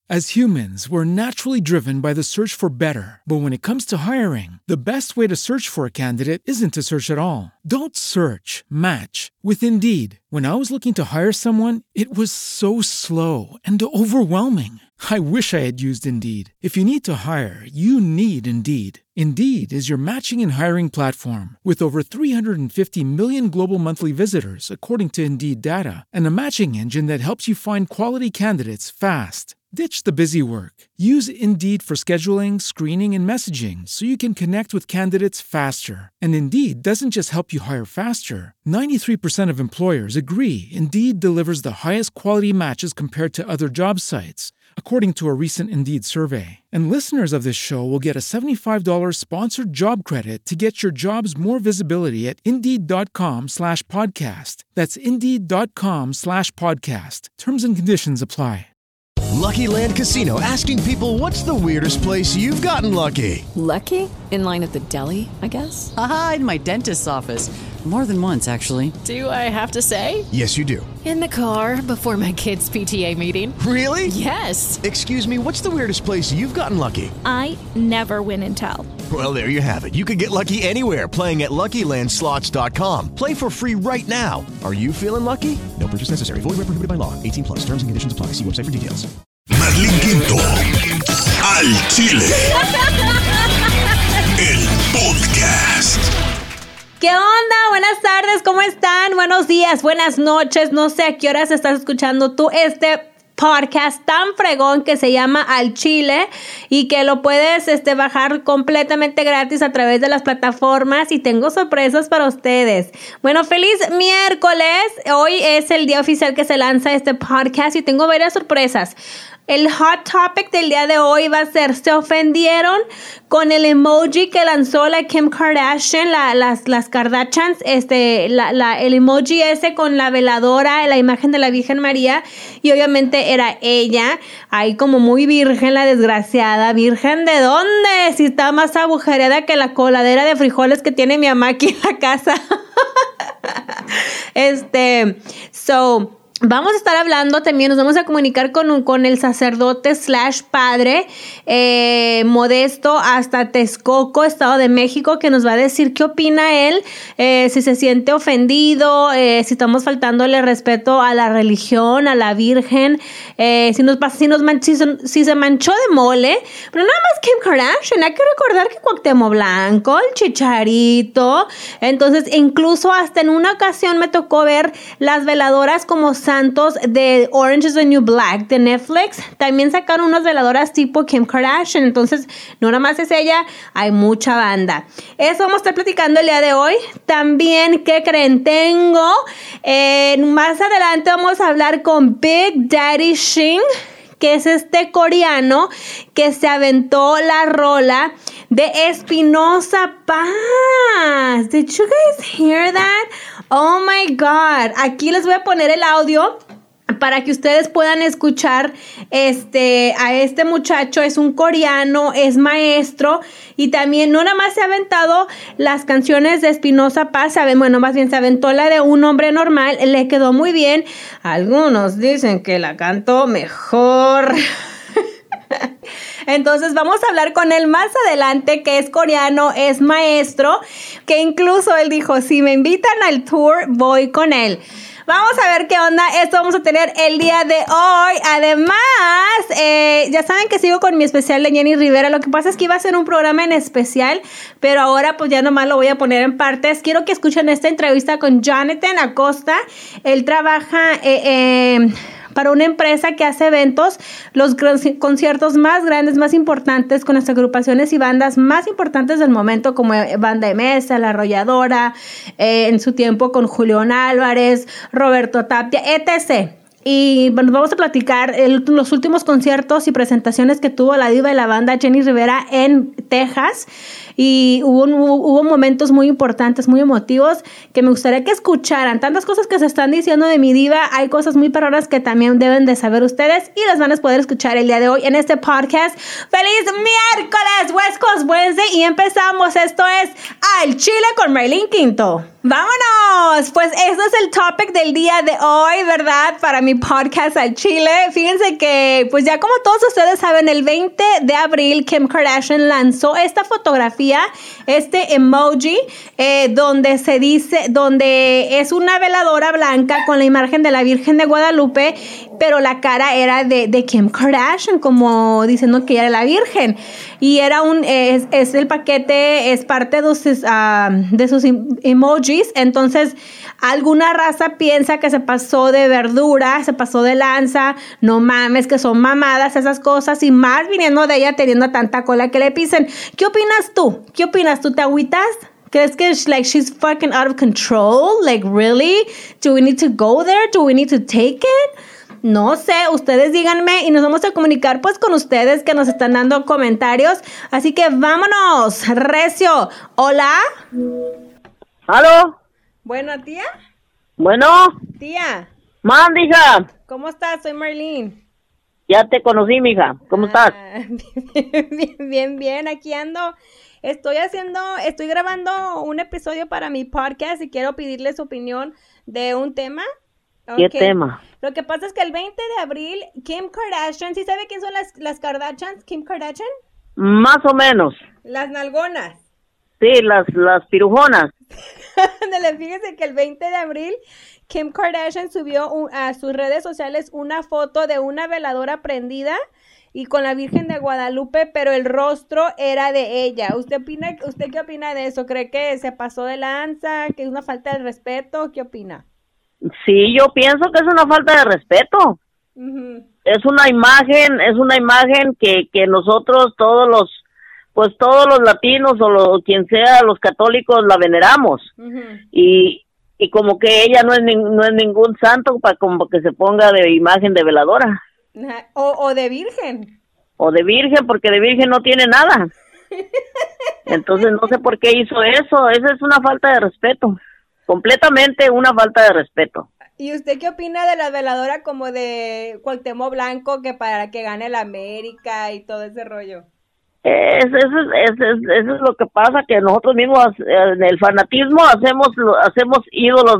As humans, we're naturally driven by the search for better. But when it comes to hiring, the best way to search for a candidate isn't to search at all. Don't search, match with Indeed. When I was looking to hire someone, it was so slow and overwhelming. I wish I had used Indeed. If you need to hire, you need Indeed. Indeed is your matching and hiring platform with over 350 million global monthly visitors, according to Indeed data, and a matching engine that helps you find quality candidates fast. Ditch the busy work. Use Indeed for scheduling, screening, and messaging so you can connect with candidates faster. And Indeed doesn't just help you hire faster. 93% of employers agree Indeed delivers the highest quality matches compared to other job sites, according to a recent Indeed survey. And listeners of this show will get a $75 sponsored job credit to get your jobs more visibility at Indeed.com/podcast. That's Indeed.com/podcast. Terms and conditions apply. Lucky Land Casino, asking people, what's the weirdest place you've gotten lucky? Lucky? In line at the deli, I guess? Aha, in my dentist's office. More than once, actually. Do I have to say? Yes, you do. In the car before my kids' PTA meeting. Really? Yes. Excuse me, what's the weirdest place you've gotten lucky? I never win and tell. Well, there you have it. You can get lucky anywhere, playing at LuckyLandSlots.com. Play for free right now. Are you feeling lucky? No purchase necessary. Void where prohibited by law. 18+. Terms and conditions apply. See website for details. Marlene Quinto, al Chile. El podcast. ¿Qué onda? Buenas tardes, ¿cómo están? Buenos días, buenas noches. No sé a qué horas estás escuchando tú este podcast tan fregón que se llama Al Chile y que lo puedes bajar completamente gratis a través de las plataformas, y tengo sorpresas para ustedes. Bueno, feliz miércoles. Hoy es el día oficial que se lanza este podcast y tengo varias sorpresas. El hot topic del día de hoy va a ser: ¿se ofendieron con el emoji que lanzó la Kim Kardashian, las Kardashians? El emoji ese con la veladora, la imagen de la Virgen María, y obviamente era ella, ahí como muy virgen la desgraciada. ¿Virgen de dónde? Si está más agujereada que la coladera de frijoles que tiene mi mamá aquí en la casa. Vamos a estar hablando también, nos vamos a comunicar con el sacerdote / padre Modesto hasta Texcoco, Estado de México, que nos va a decir qué opina él, si se siente ofendido, si estamos faltándole respeto a la religión, a la Virgen, si se manchó de mole. Pero nada más Kim Kardashian, hay que recordar que Cuauhtémoc Blanco, el Chicharito. Entonces, incluso hasta en una ocasión me tocó ver las veladoras como santos de Orange is the New Black de Netflix. También sacaron unas veladoras tipo Kim Kardashian. Entonces, no nada más es ella, hay mucha banda. Eso vamos a estar platicando el día de hoy. También, ¿qué creen? Más adelante vamos a hablar con Big Daddy Shin, que es este coreano que se aventó la rola de Espinosa Paz. Did you guys hear that? Oh my God. Aquí les voy a poner el audio para que ustedes puedan escuchar a este muchacho. Es un coreano, es maestro, y también no nada más se ha aventado las canciones de Espinosa Paz, se aventó la de Un Hombre Normal, le quedó muy bien. Algunos dicen que la cantó mejor. Entonces vamos a hablar con él más adelante, que es coreano, es maestro, que incluso él dijo, si me invitan al tour, voy con él. Vamos a ver qué onda. Esto vamos a tener el día de hoy. Además, ya saben que sigo con mi especial de Jenny Rivera. Lo que pasa es que iba a ser un programa en especial, pero ahora pues ya nomás lo voy a poner en partes. Quiero que escuchen esta entrevista con Jonathan Acosta. Él trabaja para una empresa que hace eventos, los conciertos más grandes, más importantes, con las agrupaciones y bandas más importantes del momento, como Banda MS, La Arrolladora, en su tiempo con Julián Álvarez, Roberto Tapia, etc. Y bueno, vamos a platicar los últimos conciertos y presentaciones que tuvo la diva de la banda Jenny Rivera en Texas. Y hubo momentos muy importantes, muy emotivos, que me gustaría que escucharan. Tantas cosas que se están diciendo de mi diva, hay cosas muy perronas que también deben de saber ustedes y las van a poder escuchar el día de hoy en este podcast. ¡Feliz miércoles! West Coast Wednesday, y empezamos. Esto es Al Chile con Marlene Quinto. ¡Vámonos! Pues este es el topic del día de hoy, ¿verdad? Para mi mi podcast al Chile. Fíjense que, pues ya como todos ustedes saben, el 20 de abril Kim Kardashian lanzó esta fotografía, este emoji, donde es una veladora blanca con la imagen de la Virgen de Guadalupe, pero la cara era de Kim Kardashian, como diciendo que ella era la Virgen. Y era el paquete, es parte de sus emojis. Entonces, alguna raza piensa que se pasó de verdura, se pasó de lanza, no mames, que son mamadas esas cosas, y más viniendo de ella teniendo tanta cola que le pisen. ¿Qué opinas tú? ¿Te agüitas? ¿Crees que she's fucking out of control? Like, really? Do we need to go there? Do we need to take it? No sé, ustedes díganme y nos vamos a comunicar pues con ustedes que nos están dando comentarios. Así que vámonos, recio. Hola. ¿Aló? Bueno, tía. Bueno. Tía. Manda, hija. ¿Cómo estás? Soy Marlene. Ya te conocí, mija. ¿Cómo estás? Bien. Aquí ando. Estoy grabando un episodio para mi podcast y quiero pedirle su opinión de un tema. ¿Qué tema? Lo que pasa es que el 20 de abril, Kim Kardashian, ¿sí sabe quién son las Kardashians? Kim Kardashian. Más o menos. Las nalgonas. Sí, las pirujonas. Fíjese que el 20 de abril, Kim Kardashian subió a sus redes sociales una foto de una veladora prendida y con la Virgen de Guadalupe, pero el rostro era de ella. ¿Usted qué opina de eso? ¿Cree que se pasó de lanza, que es una falta de respeto? ¿Qué opina? Sí, yo pienso que es una falta de respeto. Uh-huh. Es una imagen que nosotros todos los latinos o quien sea, los católicos la veneramos. Uh-huh. Y como que ella no es ningún santo para como que se ponga de imagen de veladora. O de virgen. O de virgen, porque de virgen no tiene nada. Entonces no sé por qué hizo eso. Esa es una falta de respeto. Completamente una falta de respeto. ¿Y usted qué opina de la veladora como de Cuauhtémoc Blanco, que para que gane la América y todo ese rollo? Eso es lo que pasa, que nosotros mismos en el fanatismo hacemos ídolos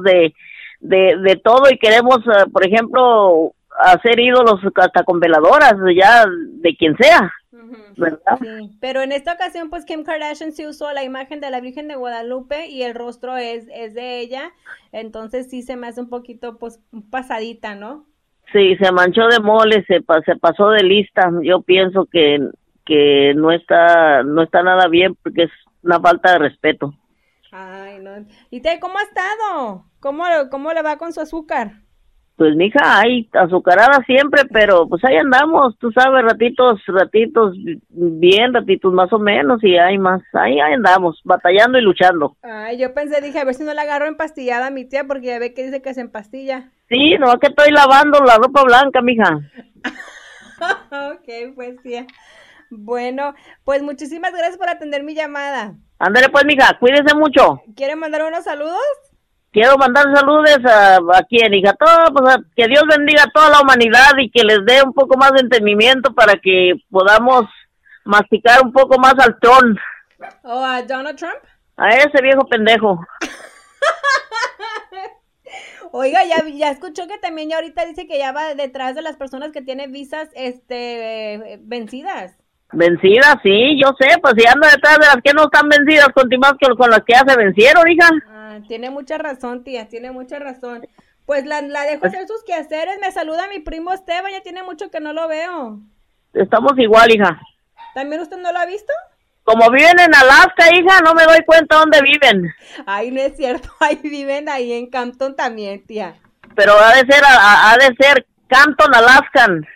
de todo y queremos, por ejemplo, hacer ídolos hasta con veladoras, ya de quien sea. ¿Verdad? Sí, pero en esta ocasión pues Kim Kardashian sí usó la imagen de la Virgen de Guadalupe y el rostro es de ella, entonces sí se me hace un poquito pues pasadita, ¿no? Sí, se manchó de mole, se pasó de lista. Yo pienso que no está nada bien porque es una falta de respeto. Ay, no. ¿Y cómo ha estado? ¿Cómo le va con su azúcar? Pues mija, hay azucarada siempre, pero pues ahí andamos, tú sabes, ratitos bien, ratitos más o menos, y hay más, ahí andamos, batallando y luchando. Ay, dije, a ver si no la agarro empastillada a mi tía, porque ya ve que dice que se empastilla. Sí, no, que estoy lavando la ropa blanca, mija. Ok, pues tía. Bueno, pues muchísimas gracias por atender mi llamada. Ándale pues, mija, cuídese mucho. ¿Quiere mandar unos saludos? Quiero mandar saludos a quien, hija, que Dios bendiga a toda la humanidad y que les dé un poco más de entendimiento para que podamos masticar un poco más al Trump. ¿O a Donald Trump? A ese viejo pendejo. Oiga, ya escuchó que también ya ahorita dice que ya va detrás de las personas que tienen visas vencidas. Vencidas, sí, yo sé, pues si anda detrás de las que no están vencidas, continuamos con las que ya se vencieron, hija. Tiene mucha razón, tía, tiene mucha razón. Pues la dejo hacer sus quehaceres. Me saluda mi primo Esteban, ya tiene mucho que no lo veo. Estamos igual, hija. ¿También usted no lo ha visto? Como viven en Alaska, hija, no me doy cuenta dónde viven. Ay, no es cierto, ahí viven ahí en Campton también, tía. Pero ha de ser Campton, Alaskan.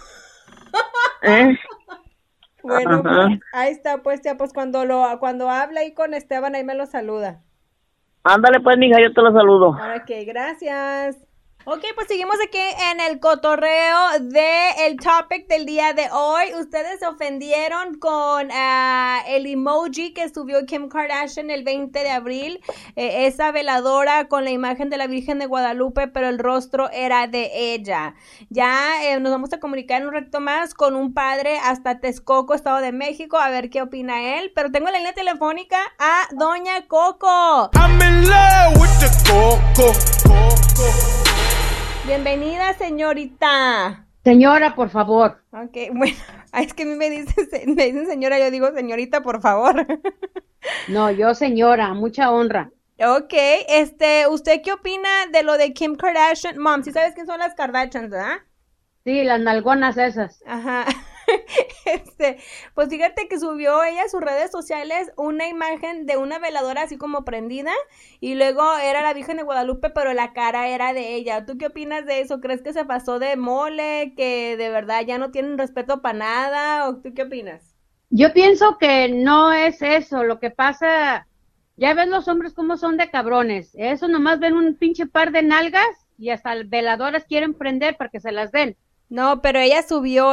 Bueno, pues, ahí está, pues, tía, pues cuando habla ahí con Esteban, ahí me lo saluda. Ándale pues, mija, yo te lo saludo. Ok, gracias. Ok, pues seguimos aquí en el cotorreo del topic del día de hoy. Ustedes se ofendieron con el emoji que subió Kim Kardashian el 20 de abril. Esa veladora con la imagen de la Virgen de Guadalupe, pero el rostro era de ella. Ya nos vamos a comunicar en un rato más con un padre hasta Texcoco, Estado de México, a ver qué opina él. Pero tengo la línea telefónica a Doña Coco. I'm in love with the Coco. Bienvenida, señorita. Señora, por favor. Ok, bueno, es que a mí me dicen señora, yo digo señorita, por favor. No, yo señora, mucha honra. Ok, ¿usted qué opina de lo de Kim Kardashian? Mom, ¿sí sabes quién son las Kardashians, verdad? Sí, las nalgonas esas. Ajá. Pues fíjate que subió ella a sus redes sociales una imagen de una veladora así como prendida y luego era la Virgen de Guadalupe, pero la cara era de ella. ¿Tú qué opinas de eso? ¿Crees que se pasó de mole, que de verdad ya no tienen respeto para nada? ¿O tú qué opinas? Yo pienso que no es eso. Lo que pasa, ya ves los hombres cómo son de cabrones. Eso nomás ven un pinche par de nalgas y hasta veladoras quieren prender para que se las den. No, pero ella subió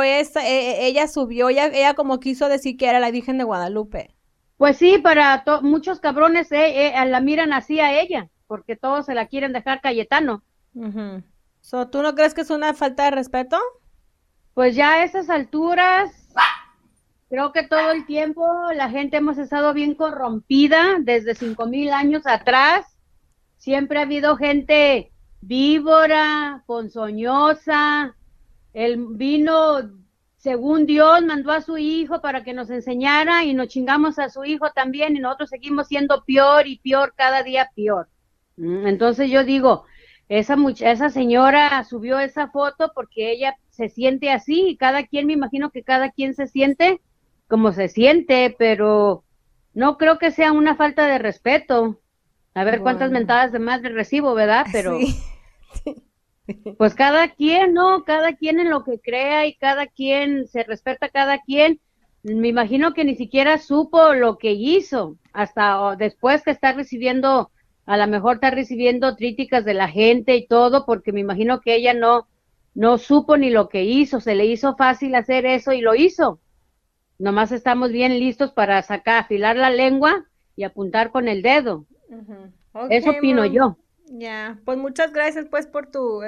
ella como quiso decir que era la Virgen de Guadalupe. Pues sí, para muchos cabrones la miran así a ella, porque todos se la quieren dejar Cayetano. Uh-huh. So, ¿tú no crees que es una falta de respeto? Pues ya a esas alturas, creo que todo el tiempo la gente hemos estado bien corrompida, desde 5,000 años atrás. Siempre ha habido gente víbora, ponzoñosa. Él vino, según Dios, mandó a su hijo para que nos enseñara y nos chingamos a su hijo también y nosotros seguimos siendo peor y peor, cada día peor. Entonces yo digo, esa señora subió esa foto porque ella se siente así y cada quien, me imagino que cada quien se siente como se siente, pero no creo que sea una falta de respeto. A ver cuántas mentadas de madre recibo, ¿verdad? Pero... Sí. Pues cada quien, ¿no? Cada quien en lo que crea y cada quien se respeta a cada quien. Me imagino que ni siquiera supo lo que hizo, hasta después que está recibiendo, a lo mejor está recibiendo críticas de la gente y todo, porque me imagino que ella no supo ni lo que hizo, se le hizo fácil hacer eso y lo hizo. Nomás estamos bien listos para afilar la lengua y apuntar con el dedo. Uh-huh. Okay, eso opino yo. Ya, pues muchas gracias pues por tu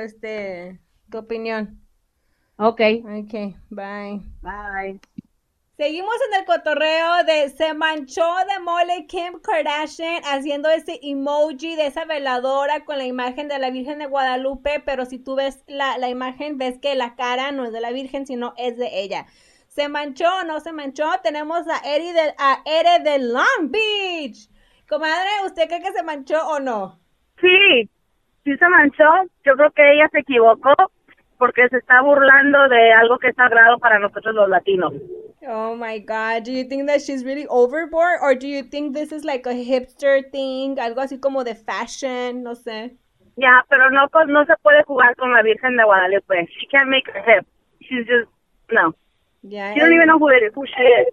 opinión. Okay, bye. Bye. Seguimos en el cotorreo de se manchó de mole Kim Kardashian haciendo ese emoji de esa veladora con la imagen de la Virgen de Guadalupe, pero si tú ves la imagen ves que la cara no es de la Virgen, sino es de ella. ¿Se manchó o no se manchó? Tenemos a Ere de Long Beach. Comadre, ¿usted cree que se manchó o no? Sí se manchó. Yo creo que ella se equivocó porque se está burlando de algo que es sagrado para nosotros los latinos. Oh my God, do you think that she's really overboard or do you think this is like a hipster thing, algo así como de fashion, no sé? Ya, pero no se puede jugar con la Virgen de Guadalupe. She can't make her hip. She's just, no. Yeah, she don't even know who she is.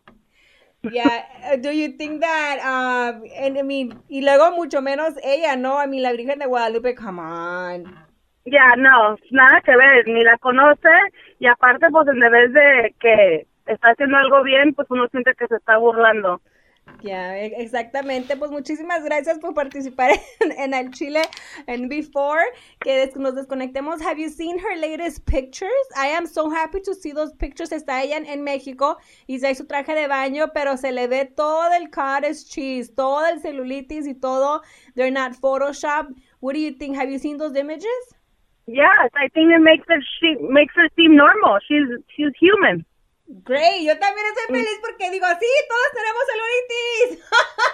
Yeah, do you think that, and I mean, y luego mucho menos ella, ¿no? I mean, la Virgen de Guadalupe, come on. Ya, no, nada que ver, ni la conoce, y aparte, pues, en vez de que está haciendo algo bien, pues uno siente que se está burlando. Ya, exactamente. Pues muchísimas gracias por participar en el Chile and Before que nos desconectemos. Have you seen her latest pictures? I am so happy to see those pictures. Está ella en México y trae su traje de baño, pero se le ve todo el cottage cheese, todo el celulitis y todo. They're not Photoshop. What do you think? Have you seen those images? Yes, I think it makes her seem normal. She's human. Great, yo también estoy feliz porque digo, sí, todos tenemos celulitis.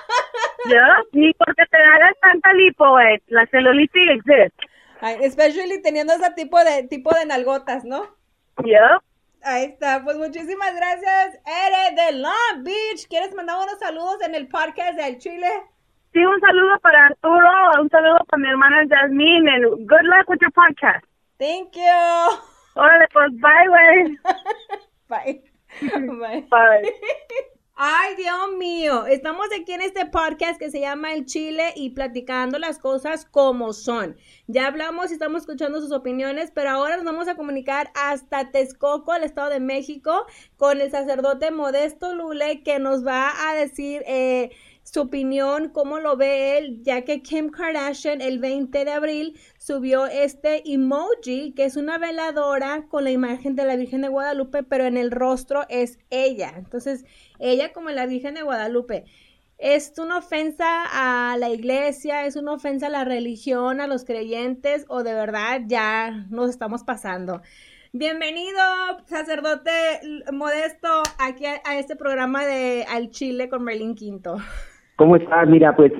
Yeah, ni porque te hagas tanta lipo, la celulitis existe. Especially teniendo ese tipo de nalgotas, ¿no? Yeah. Ahí está, pues muchísimas gracias, Ere de Long Beach. ¿Quieres mandar unos saludos en el podcast del Chile? Sí, un saludo para Arturo, un saludo para mi hermana Jasmine, and good luck with your podcast. Thank you. Órale, pues, bye, güey. Bye. Bye. Bye. Ay, Dios mío, estamos aquí en este podcast que se llama El Chile y platicando las cosas como son. Ya hablamos y estamos escuchando sus opiniones, pero ahora nos vamos a comunicar hasta Texcoco, el Estado de México, con el sacerdote Modesto Lule, que nos va a decir su opinión, cómo lo ve él, ya que Kim Kardashian el 20 de abril subió este emoji, que es una veladora con la imagen de la Virgen de Guadalupe, pero en el rostro es ella. Entonces, ella como la Virgen de Guadalupe. ¿Es una ofensa a la iglesia? ¿Es una ofensa a la religión, a los creyentes? ¿O de verdad ya nos estamos pasando? Bienvenido, sacerdote Modesto, aquí a este programa de Al Chile con Merlin Quinto. ¿Cómo estás? Mira, pues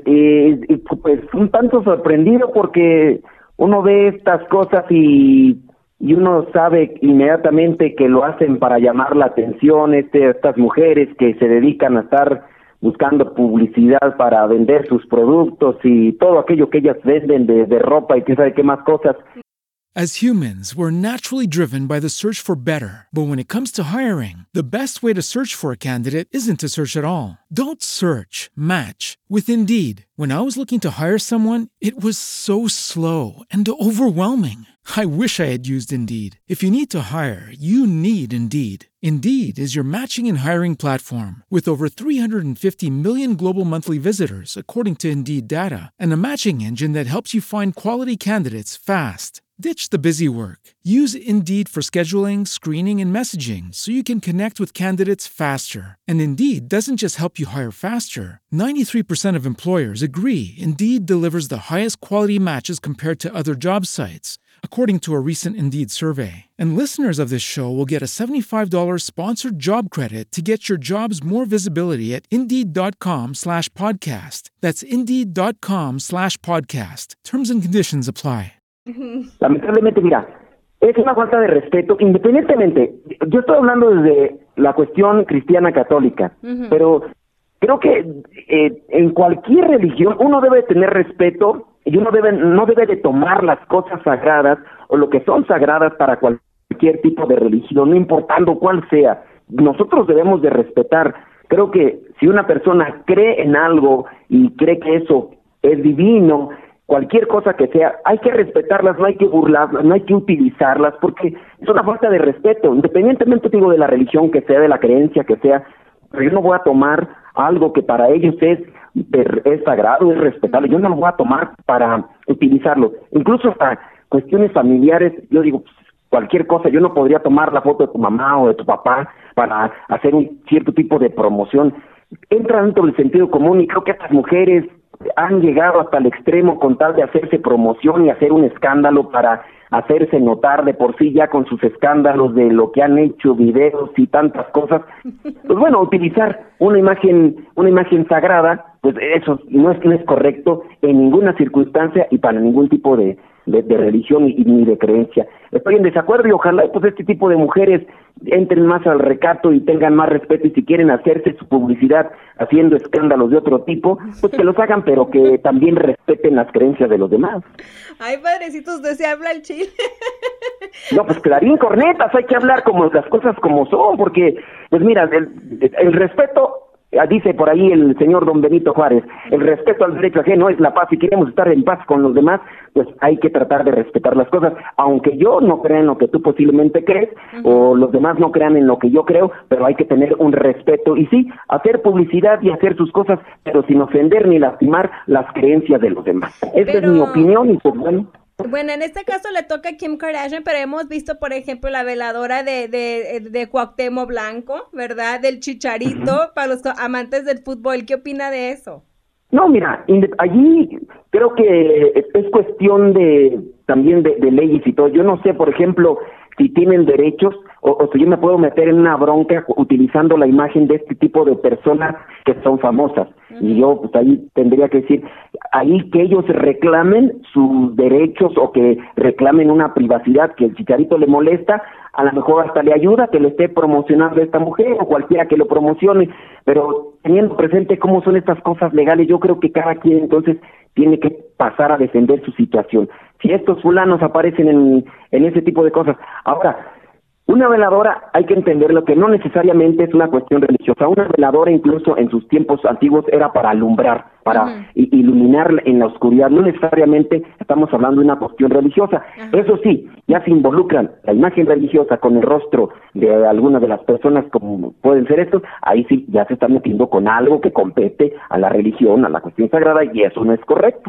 un tanto sorprendido porque uno ve estas cosas y uno sabe inmediatamente que lo hacen para llamar la atención, estas mujeres que se dedican a estar buscando publicidad para vender sus productos y todo aquello que ellas venden de ropa y quién sabe qué más cosas. As humans, we're naturally driven by the search for better. But when it comes to hiring, the best way to search for a candidate isn't to search at all. Don't search, match with Indeed. When I was looking to hire someone, it was so slow and overwhelming. I wish I had used Indeed. If you need to hire, you need Indeed. Indeed is your matching and hiring platform with over 350 million global monthly visitors, according to Indeed data, and a matching engine that helps you find quality candidates fast. Ditch the busy work. Use Indeed for scheduling, screening, and messaging so you can connect with candidates faster. And Indeed doesn't just help you hire faster. 93% of employers agree Indeed delivers the highest quality matches compared to other job sites, according to a recent Indeed survey. And listeners of this show will get a $75 sponsored job credit to get your jobs more visibility at Indeed.com/podcast. That's Indeed.com/podcast. Terms and conditions apply. Lamentablemente, mira, es una falta de respeto, independientemente, yo estoy hablando desde la cuestión cristiana católica, pero creo que en cualquier religión uno debe tener respeto y uno no debe de tomar las cosas sagradas o lo que son sagradas para cualquier tipo de religión, no importando cuál sea. Nosotros debemos de respetar. Creo que si una persona cree en algo y cree que eso es divino, cualquier cosa que sea, hay que respetarlas, no hay que burlarlas, no hay que utilizarlas, porque es una falta de respeto, independientemente, digo, de la religión que sea, de la creencia que sea, pero yo no voy a tomar algo que para ellos es sagrado, es respetable, yo no lo voy a tomar para utilizarlo, incluso para cuestiones familiares, yo digo, pues, cualquier cosa, yo no podría tomar la foto de tu mamá o de tu papá para hacer un cierto tipo de promoción, entra dentro del sentido común y creo que estas mujeres han llegado hasta el extremo con tal de hacerse promoción y hacer un escándalo para hacerse notar de por sí ya con sus escándalos de lo que han hecho, videos y tantas cosas. Pues bueno, utilizar una imagen sagrada, pues eso no es correcto en ninguna circunstancia y para ningún tipo de religión ni de creencia. Estoy en desacuerdo y ojalá pues este tipo de mujeres entren más al recato y tengan más respeto y si quieren hacerse su publicidad haciendo escándalos de otro tipo, pues que los hagan, pero que también respeten las creencias de los demás. Ay, padrecito, usted se habla el chile. No, pues clarín, cornetas, hay que hablar como las cosas como son, porque, pues mira, el respeto, dice por ahí el señor don Benito Juárez, el respeto al derecho ajeno es la paz, si queremos estar en paz con los demás, pues hay que tratar de respetar las cosas, aunque yo no crea en lo que tú posiblemente crees, o los demás no crean en lo que yo creo, pero hay que tener un respeto, y sí, hacer publicidad y hacer sus cosas, pero sin ofender ni lastimar las creencias de los demás. Esa es mi opinión, y pues bueno. Bueno, en este caso le toca a Kim Kardashian, pero hemos visto, por ejemplo, la veladora de Cuauhtémoc Blanco, ¿verdad? Del Chicharito, para los amantes del fútbol. ¿Qué opina de eso? No, mira, allí creo que es cuestión también de leyes y todo. Yo no sé, por ejemplo, si tienen derechos o si yo me puedo meter en una bronca utilizando la imagen de este tipo de personas que son famosas. Y yo pues ahí tendría que decir, ahí que ellos reclamen sus derechos o que reclamen una privacidad que el Chicharito le molesta, a lo mejor hasta le ayuda que le esté promocionando a esta mujer o cualquiera que lo promocione, pero teniendo presente cómo son estas cosas legales, yo creo que cada quien entonces tiene que pasar a defender su situación. Si estos fulanos aparecen en ese tipo de cosas. Ahora, una veladora hay que entenderlo que no necesariamente es una cuestión religiosa. Una veladora incluso en sus tiempos antiguos era para alumbrar, para iluminar en la oscuridad. No necesariamente estamos hablando de una cuestión religiosa. Eso sí, ya se involucran la imagen religiosa con el rostro de alguna de las personas como pueden ser estos, ahí sí ya se están metiendo con algo que compete a la religión, a la cuestión sagrada, y eso no es correcto.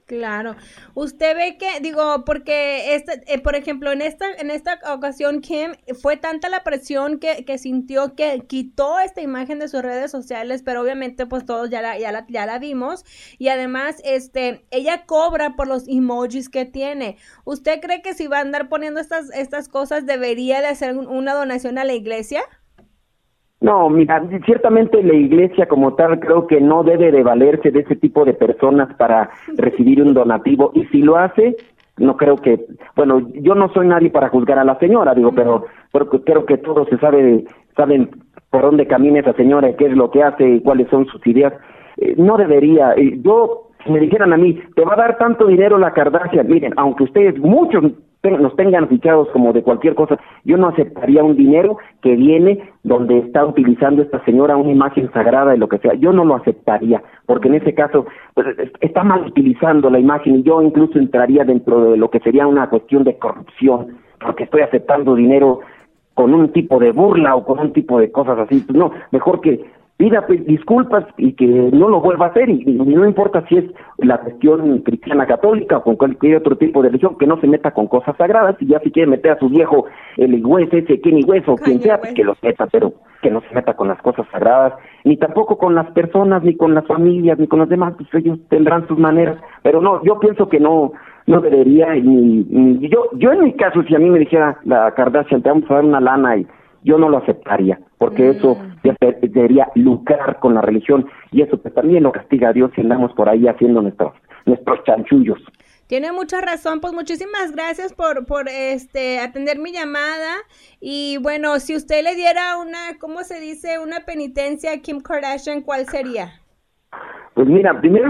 Claro. Usted ve que, digo, porque por ejemplo, en esta ocasión, Kim, fue tanta la presión que sintió que quitó esta imagen de sus redes sociales, pero obviamente pues todos ya la vimos, y además ella cobra por los emojis que tiene. ¿Usted cree que si va a andar poniendo estas cosas debería de hacer una donación a la iglesia? No, mira, ciertamente la iglesia como tal creo que no debe de valerse de ese tipo de personas para recibir un donativo, y si lo hace, no creo que, bueno, yo no soy nadie para juzgar a la señora, digo, pero creo que todos saben por dónde camina esa señora, qué es lo que hace y cuáles son sus ideas. No debería, yo, si me dijeran a mí, te va a dar tanto dinero la Kardashian, miren, aunque ustedes, muchos nos tengan fichados como de cualquier cosa, yo no aceptaría un dinero que viene donde está utilizando esta señora una imagen sagrada de lo que sea. Yo no lo aceptaría, porque en ese caso pues, está mal utilizando la imagen, y yo incluso entraría dentro de lo que sería una cuestión de corrupción, porque estoy aceptando dinero con un tipo de burla o con un tipo de cosas así. Pues no, mejor que pida disculpas y que no lo vuelva a hacer, y no importa si es la cuestión cristiana católica o con cualquier otro tipo de religión, que no se meta con cosas sagradas, y ya si quiere meter a su viejo el West ese, Kenny West o quien sea, pues que los meta, pero que no se meta con las cosas sagradas, ni tampoco con las personas, ni con las familias, ni con los demás, pues ellos tendrán sus maneras, pero no, yo pienso que no debería, ni yo en mi caso, si a mí me dijera la Kardashian, te vamos a dar una lana, y yo no lo aceptaría, porque eso ya debería lucrar con la religión, y eso pues también lo castiga a Dios si andamos por ahí haciendo nuestros chanchullos. Tiene mucha razón, pues muchísimas gracias por atender mi llamada, y bueno, si usted le diera una, ¿cómo se dice? Una penitencia a Kim Kardashian, ¿cuál sería? Pues mira, primero,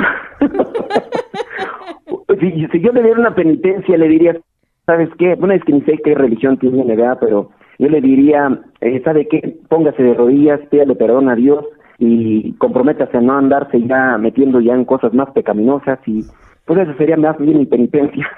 si yo le diera una penitencia, le diría, ¿sabes qué? Bueno, es que ni sé qué religión tiene, ¿verdad? Pero yo le diría, ¿sabe qué? Póngase de rodillas, pídale perdón a Dios y comprométase a no andarse ya metiendo ya en cosas más pecaminosas, y pues eso sería más bien mi penitencia.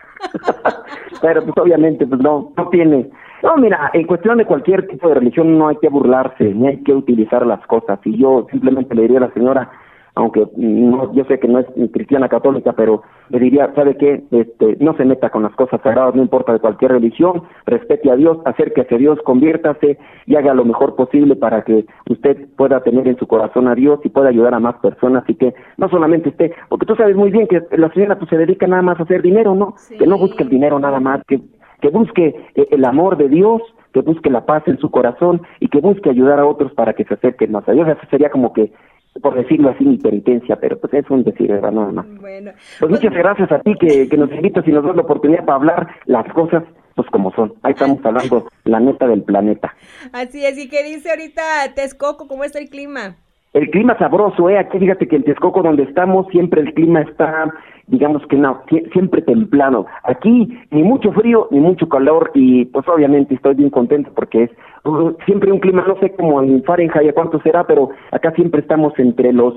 Pero pues obviamente pues no tiene. No, mira, en cuestión de cualquier tipo de religión no hay que burlarse, ni hay que utilizar las cosas, y yo simplemente le diría a la señora, aunque no, yo sé que no es cristiana católica, pero le diría, ¿sabe qué? No se meta con las cosas sagradas, no importa de cualquier religión, respete a Dios, acérquese a Dios, conviértase y haga lo mejor posible para que usted pueda tener en su corazón a Dios y pueda ayudar a más personas, y que no solamente esté, porque tú sabes muy bien que la señora pues se dedica nada más a hacer dinero, ¿no? Sí. Que no busque el dinero nada más, que busque el amor de Dios, que busque la paz en su corazón y que busque ayudar a otros para que se acerquen más a Dios. Eso sería como que, por decirlo así, mi penitencia, pero pues es un decir, ¿verdad? Nada más. Bueno, pues muchas gracias a ti que nos invitas y nos das la oportunidad para hablar las cosas pues como son. Ahí estamos hablando la neta del planeta. Así es. ¿Y qué dice ahorita Texcoco? ¿Cómo está el clima? El clima sabroso, aquí fíjate que en Texcoco donde estamos siempre el clima está, digamos que no, siempre templado. Aquí ni mucho frío ni mucho calor, y pues obviamente estoy bien contento porque es siempre un clima, no sé cómo en Fahrenheit a cuánto será, pero acá siempre estamos entre los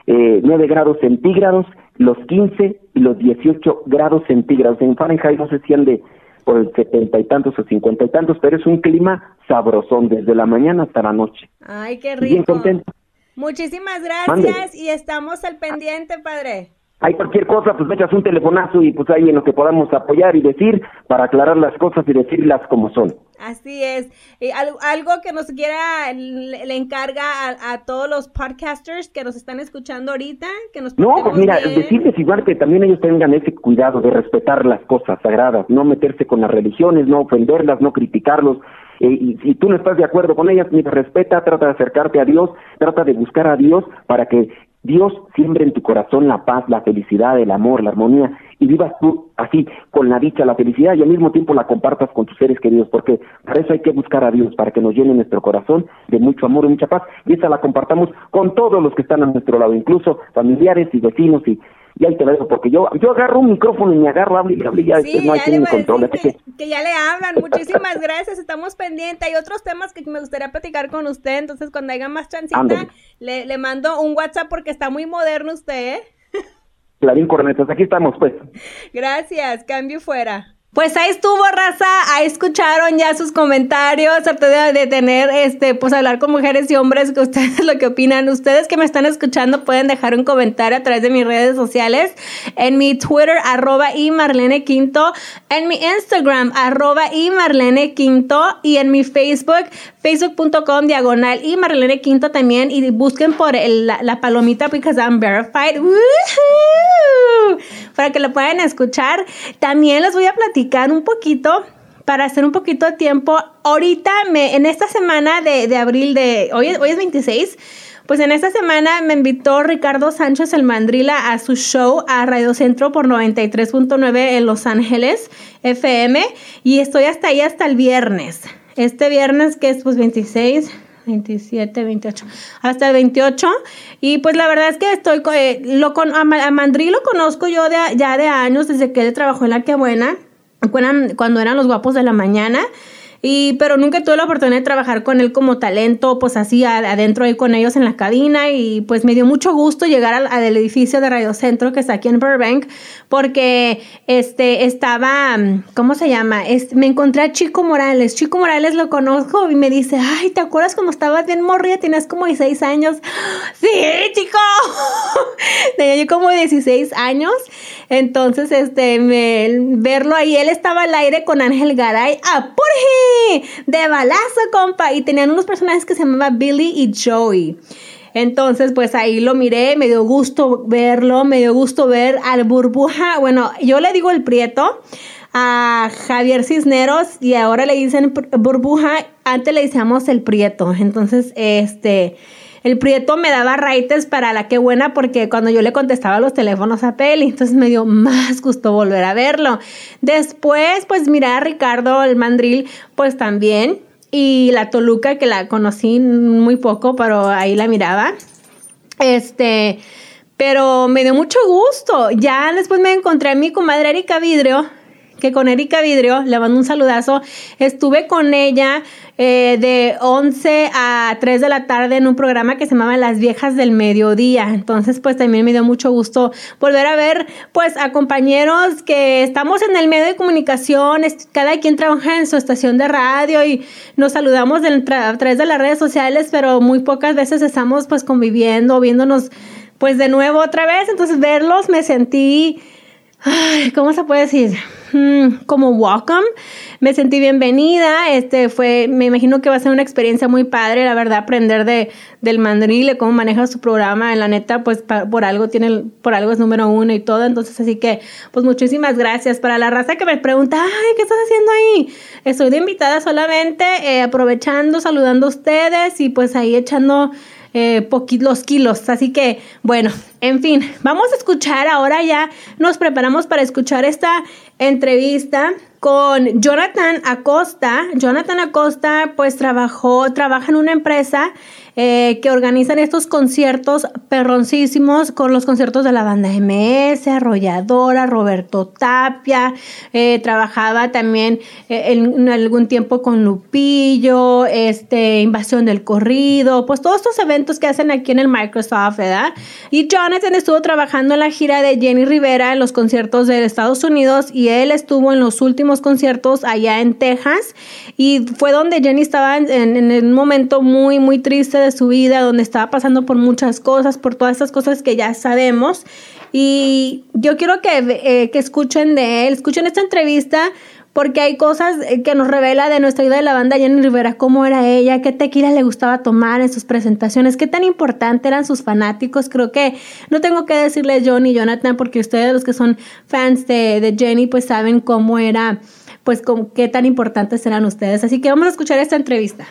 9 grados centígrados, los 15 y los 18 grados centígrados. En Fahrenheit no sé si ande por el 70 y tantos o 50 y tantos, pero es un clima sabrosón desde la mañana hasta la noche. Ay, qué rico. Bien contento. Muchísimas gracias. Mande. Y estamos al pendiente, padre. Hay cualquier cosa, pues me echas un telefonazo y pues ahí en lo que podamos apoyar y decir para aclarar las cosas y decirlas como son. Así es. Algo que nos quiera, le encarga a todos los podcasters que nos están escuchando ahorita, que nos No, pues mira, decirles igual que también ellos tengan ese cuidado de respetar las cosas sagradas, no meterse con las religiones, no ofenderlas, no criticarlos. Y si tú no estás de acuerdo con ellas, mira, respeta, trata de acercarte a Dios, trata de buscar a Dios para que Dios siembre en tu corazón la paz, la felicidad, el amor, la armonía, y vivas tú así, con la dicha, la felicidad, y al mismo tiempo la compartas con tus seres queridos, porque para eso hay que buscar a Dios, para que nos llene nuestro corazón de mucho amor y mucha paz, y esa la compartamos con todos los que están a nuestro lado, incluso familiares y vecinos, y ahí te lo dejo, porque yo agarro un micrófono y me agarro, hable y ya, sí, no hay quien me controle. Que ya le hablan. Muchísimas gracias, estamos pendientes. Hay otros temas que me gustaría platicar con usted, entonces cuando haya más chancita, le mando un WhatsApp porque está muy moderno usted, ¿eh? Clarín Cornetas, aquí estamos, pues. Gracias, cambio fuera. Pues ahí estuvo, raza, ahí escucharon ya sus comentarios, traté de tener, pues hablar con mujeres y hombres, que ustedes lo que opinan. Ustedes que me están escuchando pueden dejar un comentario a través de mis redes sociales, en mi Twitter, @imarlenequinto, en mi Instagram, @imarlenequinto, y en mi Facebook, facebook.com/imarlenequinto también, y busquen por la palomita because I'm verified. ¡Woohoo! Para que lo puedan escuchar. También les voy a platicar un poquito para hacer un poquito de tiempo. Ahorita, en esta semana de abril, hoy es 26, pues en esta semana me invitó Ricardo Sánchez el Mandrila a su show a Radio Centro por 93.9 en Los Ángeles FM, y estoy hasta ahí hasta el viernes. Este viernes, que es pues 26... 27, 28, hasta el 28, y pues la verdad es que estoy a Mandri lo conozco yo ya de años, desde que él trabajó en La Qué Buena, cuando eran los Guapos de la Mañana, pero nunca tuve la oportunidad de trabajar con él como talento, pues así adentro ahí con ellos en la cabina, y pues me dio mucho gusto llegar al edificio de Radio Centro que está aquí en Burbank, porque estaba, ¿cómo se llama? Me encontré a Chico Morales lo conozco, y me dice, ay, ¿te acuerdas cuando estabas bien morrida? Tenías como 16 años. Sí, chico. Tenía yo como 16 años. Entonces, verlo ahí, él estaba al aire con Ángel Garay, de balazo, compa, y tenían unos personajes que se llamaban Billy y Joey. Entonces, pues ahí lo miré, me dio gusto verlo, me dio gusto ver al Burbuja, bueno, yo le digo el Prieto, a Javier Cisneros, y ahora le dicen Burbuja, antes le decíamos el Prieto. Entonces, el Prieto me daba raites para La Qué Buena, porque cuando yo le contestaba los teléfonos a Peli, entonces me dio más gusto volver a verlo. Después, pues mirar a Ricardo el Mandril, pues también, y la Toluca, que la conocí muy poco, pero ahí la miraba. Pero me dio mucho gusto. Ya después me encontré a mi comadre Erika Vidrio, que con Erika Vidrio, le mando un saludazo, estuve con ella de 11 a 3 de la tarde en un programa que se llamaba Las Viejas del Mediodía. Entonces, pues también me dio mucho gusto volver a ver, pues, a compañeros que estamos en el medio de comunicación, cada quien trabaja en su estación de radio y nos saludamos a través de las redes sociales, pero muy pocas veces estamos, pues, conviviendo, viéndonos, pues, de nuevo otra vez. Entonces, verlos me sentí, ¿cómo se puede decir? Como welcome, me sentí bienvenida. Me imagino que va a ser una experiencia muy padre, la verdad, aprender del Mandril, de cómo maneja su programa. En la neta, pues por algo es número 1 y todo. Entonces, así que, pues muchísimas gracias. Para la raza que me pregunta, ay, ¿qué estás haciendo ahí? Estoy de invitada solamente, aprovechando, saludando a ustedes y pues ahí echando los kilos. Así que, bueno, en fin, vamos a escuchar ahora, ya nos preparamos para escuchar esta entrevista con Jonathan Acosta. Jonathan Acosta, pues trabaja en una empresa que organizan estos conciertos perroncísimos, con los conciertos de la banda MS, Arrolladora, Roberto Tapia, trabajaba también en algún tiempo con Lupillo, Invasión del Corrido, pues todos estos eventos que hacen aquí en el Microsoft, ¿verdad? Y Jonathan estuvo trabajando en la gira de Jenny Rivera en los conciertos de Estados Unidos, y él estuvo en los últimos conciertos allá en Texas, y fue donde Jenny estaba en un momento muy, muy triste de su vida, donde estaba pasando por muchas cosas, por todas estas cosas que ya sabemos. Y yo quiero que escuchen de él, escuchen esta entrevista, porque hay cosas que nos revela de nuestra vida de la banda Jenny Rivera, cómo era ella, qué tequila le gustaba tomar en sus presentaciones, qué tan importante eran sus fanáticos. Creo que no tengo que decirles yo ni Jonathan, porque ustedes, los que son fans de Jenny, pues saben cómo era, pues qué tan importantes eran ustedes. Así que vamos a escuchar esta entrevista.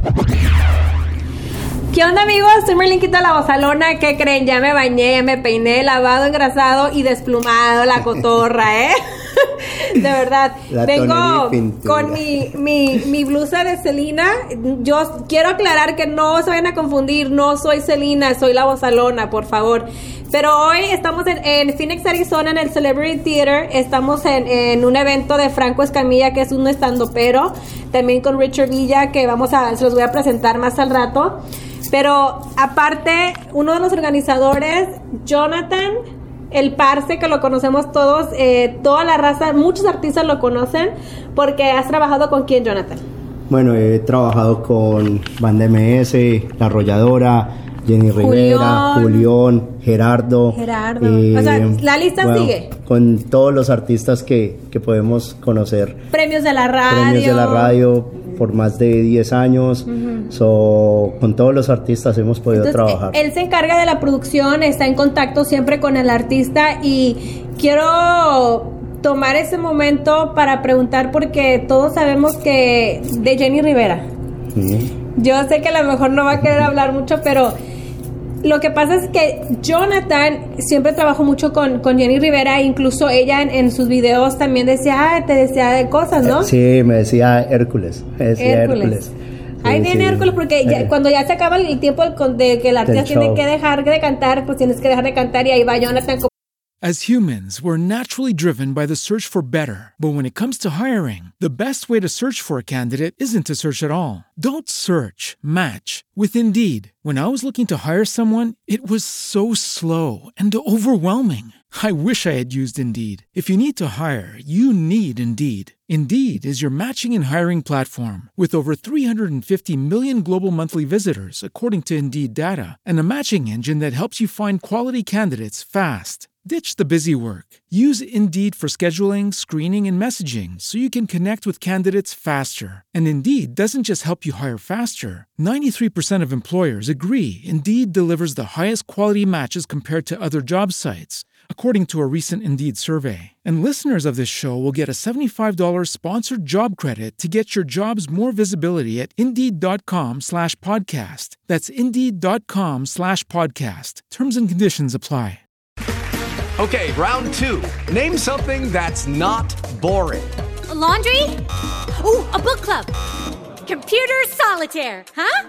¿Qué onda, amigos? Soy Marlenquita la Bozalona. ¿Qué creen? Ya me bañé, ya me peiné, lavado, engrasado y desplumado la cotorra, ¿eh? De verdad. Vengo con mi blusa de Selena. Yo quiero aclarar que no se vayan a confundir. No soy Selena, soy la Bozalona, por favor. Pero hoy estamos en Phoenix, Arizona, en el Celebrity Theater. Estamos en un evento de Franco Escamilla, que es un estandopero. También con Richard Villa, que se los voy a presentar más al rato. Pero aparte, uno de los organizadores, Jonathan, el Parce, que lo conocemos todos, toda la raza, muchos artistas lo conocen, porque has trabajado con quién, Jonathan. Bueno, he trabajado con Banda MS, La Arrolladora, Jenny Rivera, Julián, Gerardo. O sea, la lista sigue. Con todos los artistas que podemos conocer. Premios de la radio. Por más de 10 años. Con todos los artistas hemos podido trabajar. Él se encarga de la producción, está en contacto siempre con el artista, y quiero tomar ese momento para preguntar, porque todos sabemos que de Jenny Rivera. Yo sé que a lo mejor no va a querer hablar mucho, pero lo que pasa es que Jonathan siempre trabajó mucho con Jenny Rivera, incluso ella en sus videos también decía, te decía de cosas, ¿no? Sí, me decía Hércules. Hércules. Ahí viene Hércules, porque cuando ya se acaba el tiempo de que el artista tiene que dejar de cantar, pues tienes que dejar de cantar, y ahí va Jonathan. As humans, we're naturally driven by the search for better. But when it comes to hiring, the best way to search for a candidate isn't to search at all. Don't search, match with Indeed. When I was looking to hire someone, it was so slow and overwhelming. I wish I had used Indeed. If you need to hire, you need Indeed. Indeed is your matching and hiring platform with over 350 million global monthly visitors, according to Indeed data, and a matching engine that helps you find quality candidates fast. Ditch the busy work. Use Indeed for scheduling, screening, and messaging so you can connect with candidates faster. And Indeed doesn't just help you hire faster. 93% of employers agree Indeed delivers the highest quality matches compared to other job sites, according to a recent Indeed survey. And listeners of this show will get a $75 sponsored job credit to get your jobs more visibility at Indeed.com/podcast. That's Indeed.com/podcast. Terms and conditions apply. Okay, round two. Name something that's not boring. A laundry? Ooh, a book club. Computer solitaire, huh?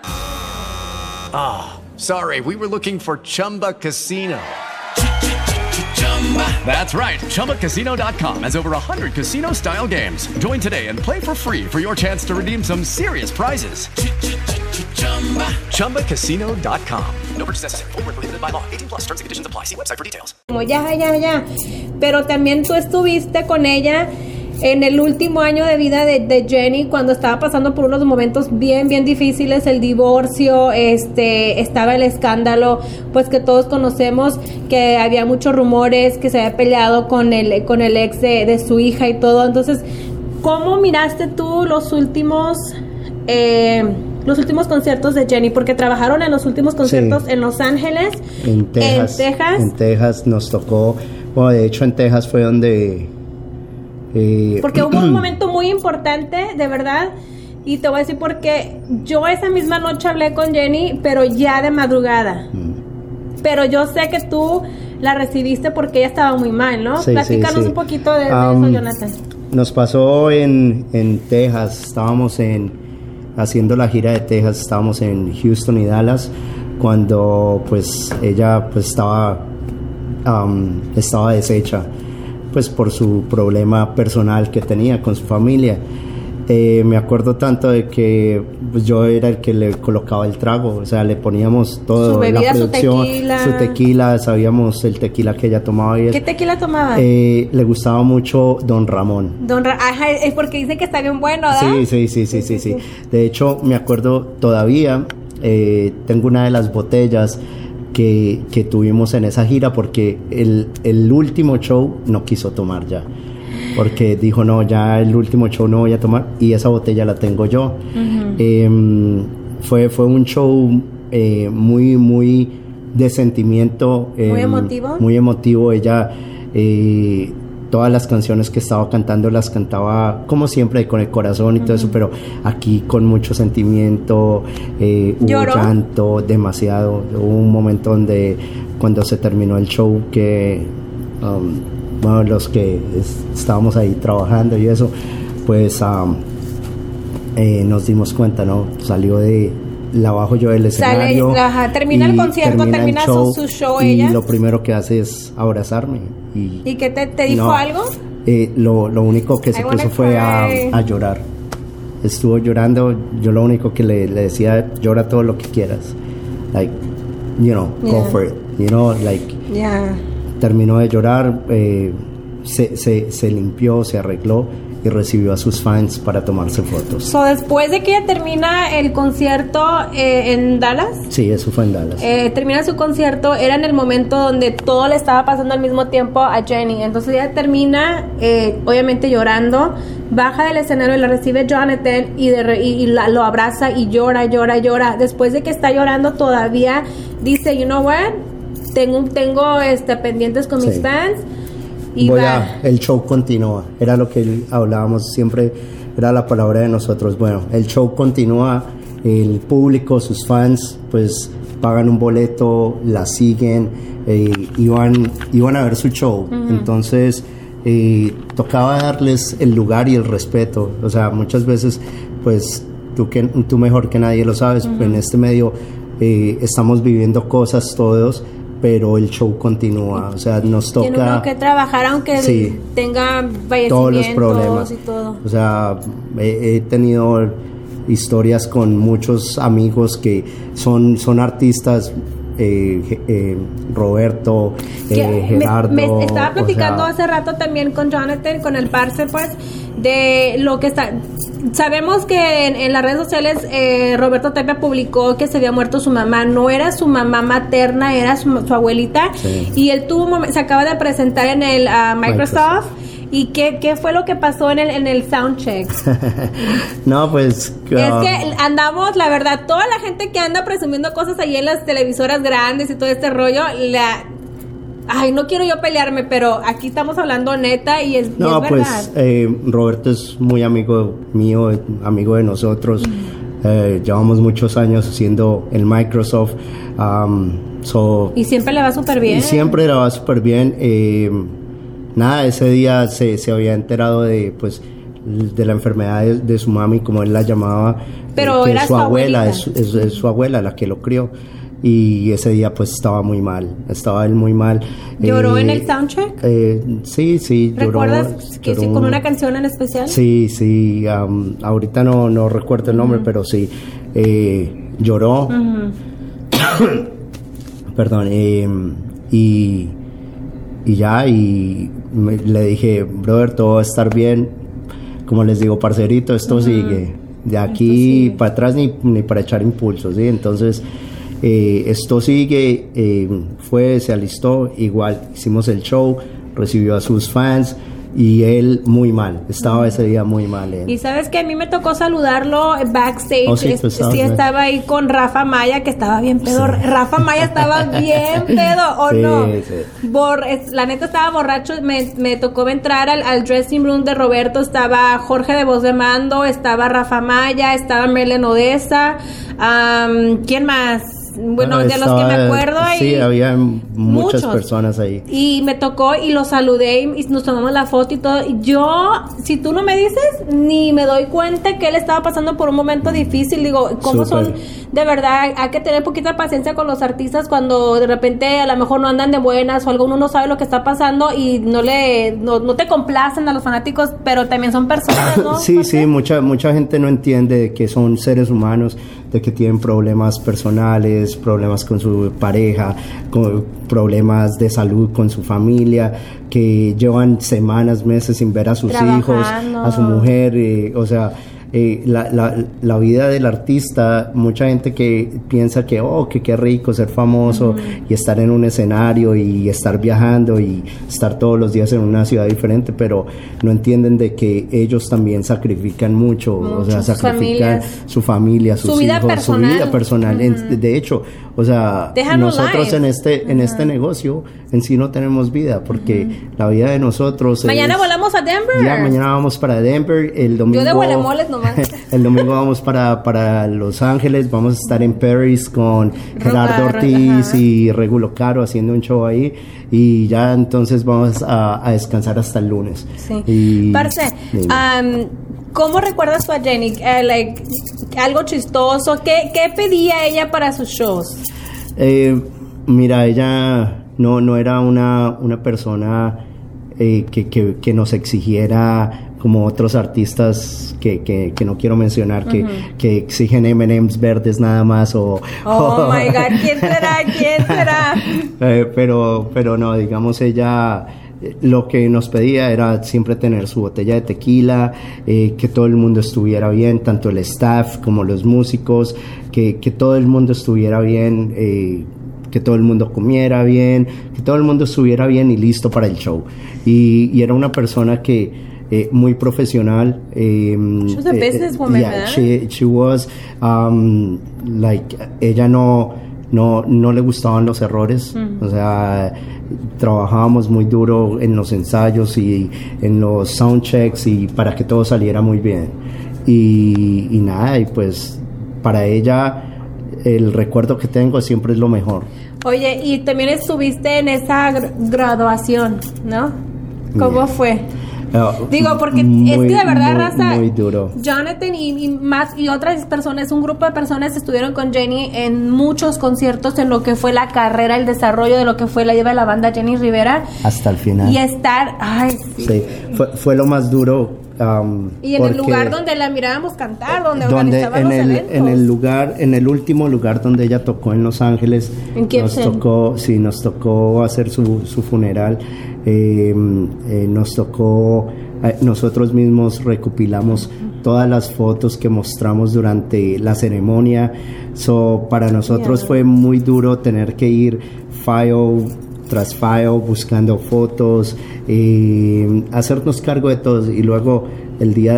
Sorry, we were looking for Chumba Casino. That's right, ChumbaCasino.com has over 100 casino-style games. Join today and play for free for your chance to redeem some serious prizes. ChumbaCasino.com. No purchase necessary. Void where prohibited by law. 18+ terms and conditions apply. See website for details. Ya. Pero también tú estuviste con ella en el último año de vida de Jenny, cuando estaba pasando por unos momentos bien difíciles, el divorcio, estaba el escándalo, pues que todos conocemos, que había muchos rumores, que se había peleado con el ex de su hija y todo. Entonces, ¿cómo miraste tú los últimos conciertos de Jenny? Porque trabajaron en los últimos conciertos en Los Ángeles, en Texas. En Texas nos tocó, bueno, de hecho en Texas fue donde... porque hubo un momento muy importante, de verdad, y te voy a decir porque yo esa misma noche hablé con Jenny, pero ya de madrugada. Pero yo sé que tú la recibiste porque ella estaba muy mal, ¿no? Sí, Platícanos un poquito de eso, Jonathan. Nos pasó en Texas, estábamos haciendo la gira de Texas, estábamos en Houston y Dallas, cuando pues ella pues estaba deshecha, pues por su problema personal que tenía con su familia. Me acuerdo tanto de que pues, yo era el que le colocaba el trago, o sea, le poníamos todo, su bebida, la producción, su tequila, sabíamos el tequila que ella tomaba. ¿Qué tequila tomaba? Le gustaba mucho Don Ramón. Ajá, es porque dicen que está bien bueno, ¿verdad? Sí. De hecho, me acuerdo todavía, tengo una de las botellas que tuvimos en esa gira, porque el último show no quiso tomar ya, porque dijo no, ya el último show no voy a tomar, y esa botella la tengo yo. Fue un show muy de sentimiento, muy emotivo. Ella todas las canciones que estaba cantando las cantaba como siempre con el corazón y todo eso, pero aquí con mucho sentimiento. Hubo llanto demasiado. Hubo un momento donde cuando se terminó el show que bueno, los que estábamos ahí trabajando y eso, pues nos dimos cuenta, ¿no? Salió la bajo yo del escenario. Termina el concierto, termina su show ella. Y lo primero que hace es abrazarme. ¿Y qué te dijo algo? Lo único que se puso fue a llorar. Estuvo llorando. Yo lo único que le decía, llora todo lo que quieras. Like, go for it. terminó de llorar, se limpió, se arregló y recibió a sus fans para tomarse fotos. So, después de que ella termina el concierto en Dallas. Sí, eso fue en Dallas. Termina su concierto, era en el momento donde todo le estaba pasando al mismo tiempo a Jenny. Entonces ella termina, obviamente llorando, baja del escenario y la recibe Jonathan y lo abraza y llora. Después de que está llorando todavía dice, you know what, tengo pendientes con mis fans. Y el show continúa, era lo que hablábamos siempre, era la palabra de nosotros. Bueno, el show continúa, el público, sus fans, pues pagan un boleto, la siguen, iban a ver su show. Entonces tocaba darles el lugar y el respeto. O sea, muchas veces, pues tú mejor que nadie lo sabes, en este medio estamos viviendo cosas todos, pero el show continúa, o sea, nos toca... Tiene uno que trabajar aunque tenga fallecimientos todos los problemas y todo. O sea, he tenido historias con muchos amigos que son artistas, Roberto, Gerardo... Me estaba platicando hace rato también con Jonathan, con el parce, pues, de lo que está... Sabemos que en las redes sociales Roberto Tapia publicó que se había muerto su mamá. No era su mamá materna, era su abuelita. Sí. Y él se acaba de presentar en el Microsoft. ¿Y qué fue lo que pasó en el soundcheck? No, pues... Es que andamos, la verdad, toda la gente que anda presumiendo cosas ahí en las televisoras grandes y todo este rollo, ay, no quiero yo pelearme, pero aquí estamos hablando neta y es verdad. Pues Roberto es muy amigo mío, amigo de nosotros. Llevamos muchos años haciendo el Microsoft. Y siempre le va súper bien. Y siempre le va súper bien. Nada, ese día se había enterado de la enfermedad de su mami, como él la llamaba. Pero era su abuela, es su abuela la que lo crió. Y ese día pues estaba él muy mal. ¿Lloró en el soundcheck? Sí, ¿Recuerdas que sí, con una canción en especial? Sí, ahorita no recuerdo el nombre, pero sí, lloró. Perdón, y le dije, brother, todo va a estar bien. Como les digo, parcerito, esto sigue. De aquí para atrás ni para echar impulsos, ¿sí? Entonces... esto sigue, se alistó, igual hicimos el show, recibió a sus fans y él muy mal, estaba ese día muy mal. Y sabes que a mí me tocó saludarlo backstage. Sí, estaba ahí con Rafa Maya, que estaba bien pedo. Sí. Rafa Maya estaba bien pedo, ¿o no? Sí. La neta estaba borracho. Me tocó entrar al dressing room de Roberto. Estaba Jorge de Voz de Mando, estaba Rafa Maya, estaba Merlen Odessa. ¿Quién más? Bueno, de los que me acuerdo. Sí, había muchas personas ahí. Y me tocó y lo saludé y nos tomamos la foto y todo. Y yo, si tú no me dices, ni me doy cuenta que él estaba pasando por un momento difícil. Digo, ¿cómo son? De verdad, hay que tener poquita paciencia con los artistas cuando de repente a lo mejor no andan de buenas o alguno no sabe lo que está pasando y no te complacen a los fanáticos, pero también son personas, ¿no? Sí, mucha gente no entiende que son seres humanos, de que tienen problemas personales, problemas con su pareja, con problemas de salud con su familia, que llevan semanas, meses sin ver a sus hijos, a su mujer, o sea... la vida del artista, mucha gente que piensa que qué rico ser famoso y estar en un escenario y estar viajando y estar todos los días en una ciudad diferente, pero no entienden de que ellos también sacrifican mucho, o sea, sacrifican su familia, sus vida hijos, personal. su vida personal. De hecho, o sea, nosotros en este negocio en sí no tenemos vida, porque la vida de nosotros mañana volamos a Denver. Ya, mañana vamos para Denver, el domingo. Yo de Huelemoles nomás. El domingo vamos para Los Ángeles, vamos a estar en Paris con Gerardo Ortiz y Regulo Caro haciendo un show ahí, y ya entonces vamos a descansar hasta el lunes. Sí. Parce, ¿cómo recuerdas tú a Jenny? Algo chistoso. ¿Qué pedía ella para sus shows? Mira, ella no era una persona que nos exigiera como otros artistas que no quiero mencionar, que exigen M&M's verdes nada más oh my God, ¿quién será? Pero no, digamos, ella lo que nos pedía era siempre tener su botella de tequila, que todo el mundo estuviera bien, tanto el staff como los músicos, que todo el mundo estuviera bien, que todo el mundo comiera bien, que todo el mundo estuviera bien y listo para el show. Y era una persona que muy profesional. She was a businesswoman, yeah, she was like, ella no le gustaban los errores. O sea, trabajábamos muy duro en los ensayos y en los soundchecks y para que todo saliera muy bien. Y nada, y pues para ella el recuerdo que tengo siempre es lo mejor. Oye, y también estuviste en esa graduación, ¿no? ¿Cómo fue? Digo, porque es que de verdad, raza, muy duro. Jonathan y otras personas, un grupo de personas estuvieron con Jenny en muchos conciertos en lo que fue la carrera, el desarrollo de lo que fue la lleva de la banda Jenny Rivera. Hasta el final. Y estar, sí, fue lo más duro. Y en el lugar donde la mirábamos cantar, donde organizaban los eventos. En el último lugar donde ella tocó en Los Ángeles, nos tocó hacer su funeral. Nos tocó, nosotros mismos recopilamos todas las fotos que mostramos durante la ceremonia. Para nosotros fue muy duro tener que ir file tras file buscando fotos, hacernos cargo de todos, y luego el día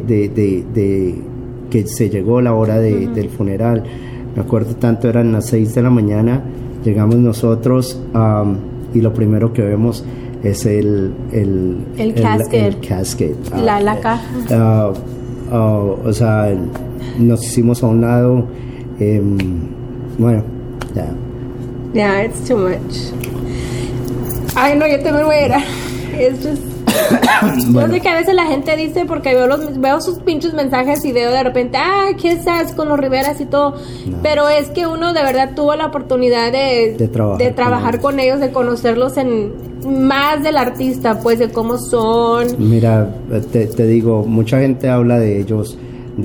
de que se llegó la hora del funeral, me acuerdo tanto, eran las 6 de la mañana, llegamos nosotros y lo primero que vemos es el casket. La caja. O sea, nos hicimos a un lado. Bueno, ya. Yeah, it's too much. Ay, no, yo también voy a ir. Es just... Bueno. Yo sé que a veces la gente dice, porque veo sus pinches mensajes y veo de repente, ¿qué estás con los Riveras y todo? No. Pero es que uno de verdad tuvo la oportunidad de trabajar con ellos, de conocerlos en más del artista, pues, de cómo son. Mira, te digo, mucha gente habla de ellos,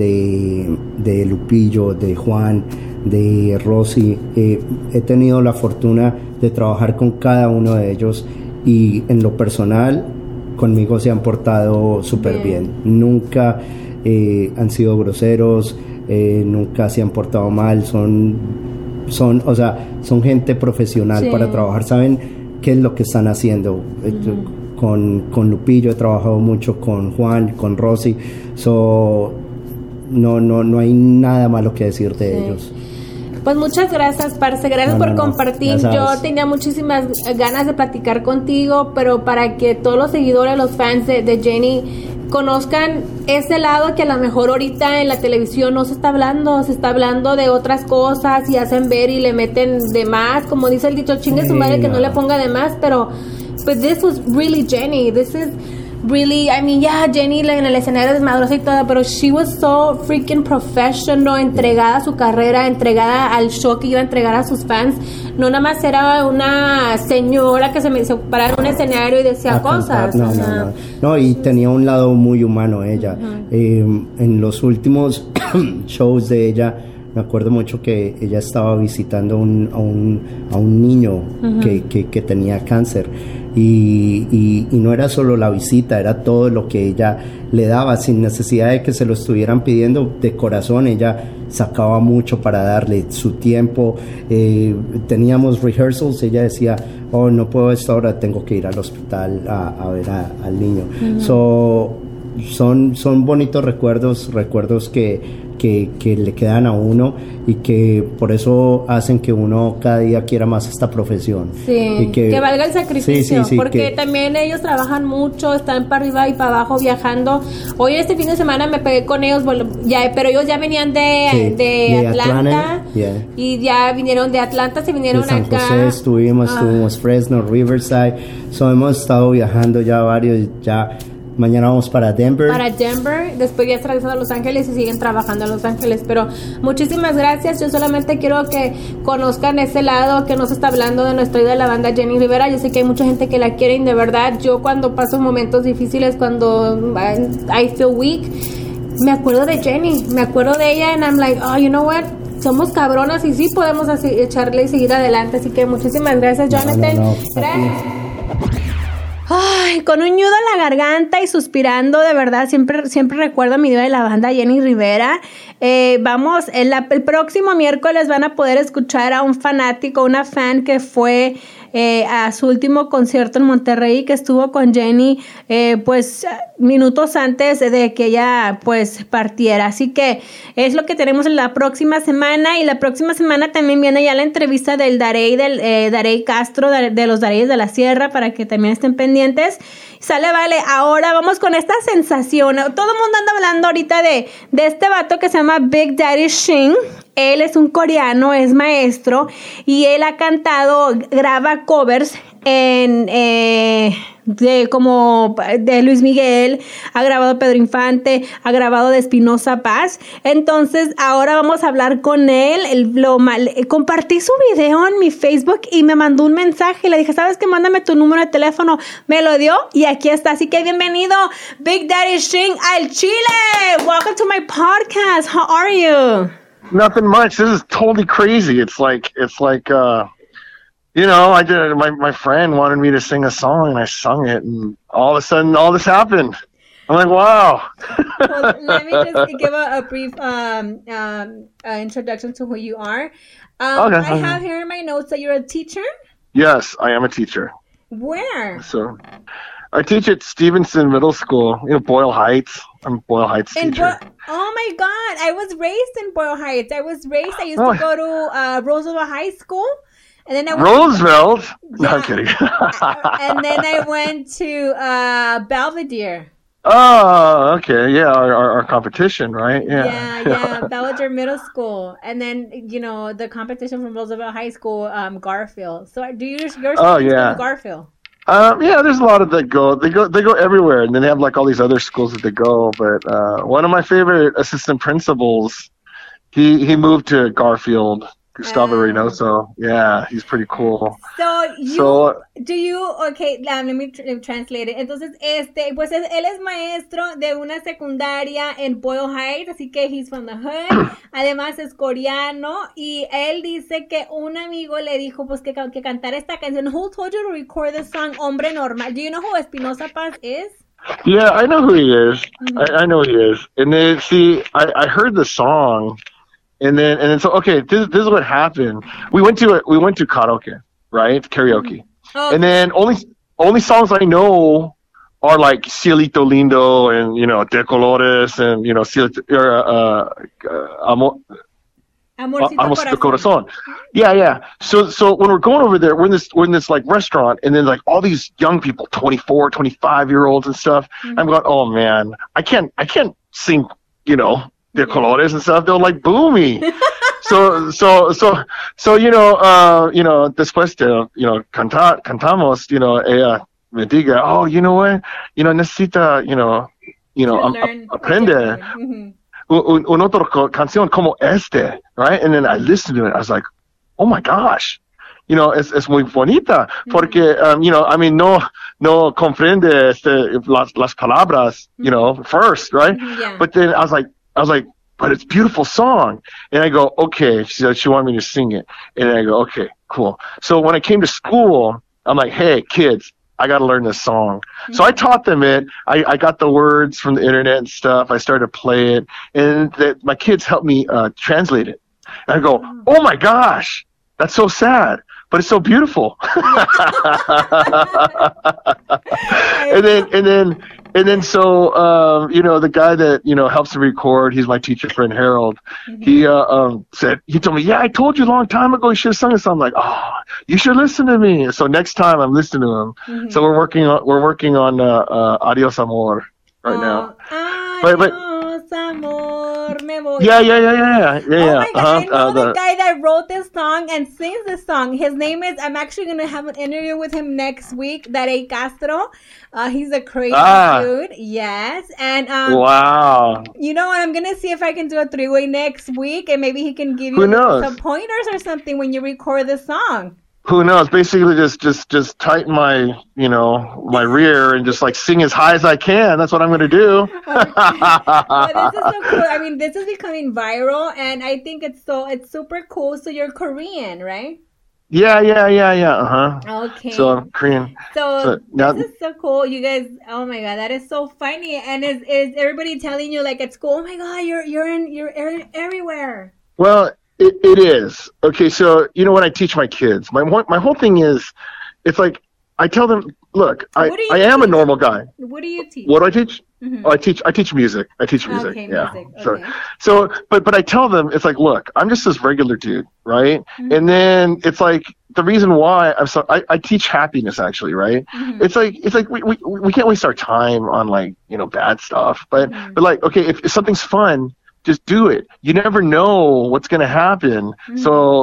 de Lupillo, de Juan, de Rosy. He tenido la fortuna de trabajar con cada uno de ellos, y en lo personal conmigo se han portado súper bien. Nunca han sido groseros, nunca se han portado mal. Son gente profesional para trabajar, saben qué es lo que están haciendo. Con Lupillo he trabajado mucho, con Juan, con Rosy. No hay nada malo que decir de ellos. Pues muchas gracias, parce, gracias por compartir. Yo tenía muchísimas ganas de platicar contigo, pero para que todos los seguidores, los fans de Jenny conozcan ese lado que a lo mejor ahorita en la televisión no se está hablando de otras cosas y hacen ver y le meten de más, como dice el dicho, chingue su madre que no le ponga de más, pero pues this was really Jenny, this is really, I mean, Jenny en el escenario desmadrosa y todo, pero she was so freaking professional, entregada a su carrera, entregada al show que iba a entregar a sus fans. No nada más era una señora que se paraba en un escenario y decía cosas. No, y tenía un lado muy humano ella. En los últimos shows de ella, me acuerdo mucho que ella estaba visitando a un niño que tenía cáncer. Y no era solo la visita, era todo lo que ella le daba sin necesidad de que se lo estuvieran pidiendo. De corazón ella sacaba mucho para darle su tiempo. Teníamos rehearsals, ella decía, no puedo a esta hora, tengo que ir al hospital a ver al niño. Son bonitos recuerdos que le quedan a uno, y que por eso hacen que uno cada día quiera más esta profesión. Sí, y que valga el sacrificio, porque también ellos trabajan mucho, están para arriba y para abajo viajando. Hoy este fin de semana me pegué con ellos, pero ellos ya venían de Atlanta, y ya vinieron de Atlanta, se vinieron de San acá. José estuvimos Fresno, Riverside, hemos estado viajando ya varios, ya mañana vamos para Denver. Para Denver, después ya se regresan a Los Ángeles y siguen trabajando en Los Ángeles. Pero muchísimas gracias. Yo solamente quiero que conozcan ese lado que nos está hablando de nuestra idea de la banda Jenni Rivera. Yo sé que hay mucha gente que la quiere y de verdad, yo cuando paso momentos difíciles, cuando I feel weak, me acuerdo de Jenni, me acuerdo de ella and I'm like, oh, you know what? Somos cabronas y sí podemos así, echarle y seguir adelante. Así que muchísimas gracias, Jonathan. Gracias. Ay, con un nudo en la garganta y suspirando, de verdad, siempre recuerdo a mi diva de la banda, Jenni Rivera. Vamos, el próximo miércoles van a poder escuchar a un fanático, una fan que fue a su último concierto en Monterrey, que estuvo con Jenni pues minutos antes de que ella pues partiera. Así que es lo que tenemos en la próxima semana, y la próxima semana también viene ya la entrevista del Darey Castro, de los Dareyes de la Sierra, para que también estén pendientes. Sale, vale, ahora vamos con esta sensación. Todo el mundo anda hablando ahorita de este vato que se llama Big Daddy Shin. Él es un coreano, es maestro, y él ha cantado, graba covers de Luis Miguel, ha grabado Pedro Infante, ha grabado de Espinosa Paz. Entonces ahora vamos a hablar con él. Compartí su video en mi Facebook y me mandó un mensaje y le dije, ¿sabes qué? Mándame tu número de teléfono. Me lo dio y aquí está. Así que bienvenido, Big Daddy Shin, al Chile. Welcome to my podcast. How are you? Nothing much. This is totally crazy. It's like you know, I did. My friend wanted me to sing a song, and I sung it, and all of a sudden, all this happened. I'm like, wow. Well, let me just give a brief introduction to who you are. Okay. I have here in my notes that you're a teacher. Yes, I am a teacher. Where? So, I teach at Stevenson Middle School, Boyle Heights. I'm a Boyle Heights teacher. Oh my God, I was raised in Boyle Heights. I used to go to Roosevelt High School. And then Roosevelt? No, I'm kidding. And then I went to Belvedere. Oh, okay. Yeah, our competition, right? Yeah. Belvedere Middle School. And then, the competition from Roosevelt High School, Garfield. So do your students go to Garfield? Yeah, there's a lot of that go. They go everywhere, and then they have like all these other schools that they go. But one of my favorite assistant principals, he moved to Garfield, Gustavo Reynoso. Yeah, he's pretty cool. Okay, let me translate it. Entonces, pues él es maestro de una secundaria en Boyle Heights, así que he's from the hood. Además es coreano, y él dice que un amigo le dijo pues que cantara esta canción. Who told you to record the song Hombre Normal? Do you know who Espinosa Paz is? Yeah, I know who he is. Mm-hmm. I know who he is. And then, see, I heard the song. And then so okay, this is what happened. We went to karaoke, right? Karaoke. Oh. And then only songs I know are like Cielito Lindo and De Colores and Amorcito Corazón. Yeah. So when we're going over there, we're in this like restaurant, and then like all these young people, 24, 25-year-olds and stuff. Mm-hmm. I'm going, oh man, I can't sing, De Colores and stuff. They'll like boo me. So después de cantamos, ella me diga, oh, you know what, necesita, aprender un otro canción como este, right? And then I listened to it. I was like, oh my gosh, es muy bonita, porque no comprende las palabras, first, right? Yeah. But then I was like, but it's a beautiful song. And I go, okay. She said she wanted me to sing it. And I go, okay, cool. So when I came to school, I'm like, hey, kids, I got to learn this song. Mm-hmm. So I taught them it. I got the words from the internet and stuff. I started to play it. And my kids helped me translate it. And I go, oh my gosh, that's so sad, but it's so beautiful. And then so the guy that helps me record, he's my teacher friend Harold. Mm-hmm. He told me, yeah, I told you a long time ago you should have sung this. I'm like, oh, you should listen to me. So next time I'm listening to him. Mm-hmm. So we're working on Adios Amor right now. Adios Amor, me nuevo. Yeah. Oh my God, I know the guy that wrote this song and sings this song. His name is, I'm actually going to have an interview with him next week, Darey Castro. He's a crazy dude. Yes. And wow. You know what? I'm going to see if I can do a 3-way next week, and maybe he can give you some pointers or something when you record the song. Who knows? Basically, just tighten my, my rear and just like sing as high as I can. That's what I'm going to do. Well, this is so cool. I mean, this is becoming viral, and I think it's super cool. So you're Korean, right? Yeah. Okay. So I'm Korean. So this is so cool. You guys, oh my God, that is so funny. And is everybody telling you like at school? Oh my God, you're everywhere. Well, it is. Okay, so when I teach my kids, my whole thing is, it's like I tell them, look, I am a normal guy. What do you teach? What do I teach? Mm-hmm. Oh, I teach music. Okay, yeah. music. Okay. So, but I tell them, it's like, look, I'm just this regular dude, right? Mm-hmm. And then it's like the reason why I teach happiness actually, right? Mm-hmm. It's like we can't waste our time on like bad stuff, but like, okay, if something's fun, just do it. You never know what's going to happen. Mm-hmm. So,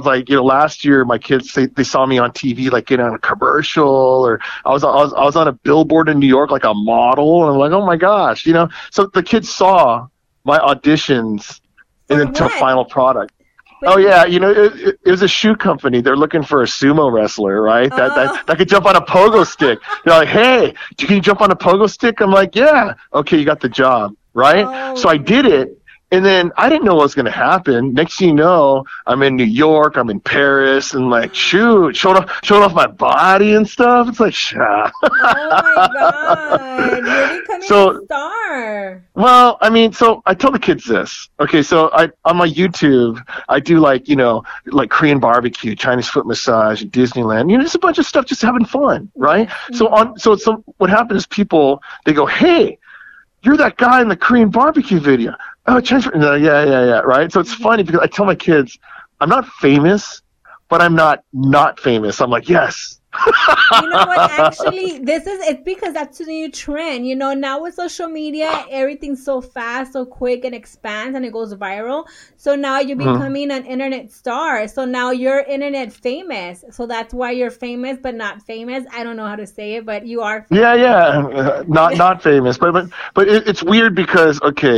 last year my kids, they saw me on TV, like getting on a commercial, or I was on a billboard in New York, like a model. And I'm like, oh my gosh, so the kids saw my auditions and then to final product. Oh yeah, it was a shoe company. They're looking for a sumo wrestler, right? That could jump on a pogo stick. They're like, hey, can you jump on a pogo stick? I'm like, yeah. Okay, you got the job, right? Oh. So I did it. And then I didn't know what was going to happen. Next thing you know, I'm in New York, I'm in Paris, and like, showing off my body and stuff. It's like, oh my God, you're becoming a star. Well, I mean, so I tell the kids this. Okay, so on my YouTube, I do like Korean barbecue, Chinese foot massage, Disneyland. Just a bunch of stuff, just having fun, right? Mm-hmm. So what happens is people, they go, hey, you're that guy in the Korean barbecue video. Oh, yeah, right? So it's funny because I tell my kids, I'm not famous, but I'm not famous. I'm like, yes. You know what? Actually, it's because that's the new trend. Now with social media, everything's so fast, so quick, and expands, and it goes viral. So now you're becoming an internet star. So now you're internet famous. So that's why you're famous, but not famous. I don't know how to say it, but you are famous. Yeah. Not famous, but it's weird because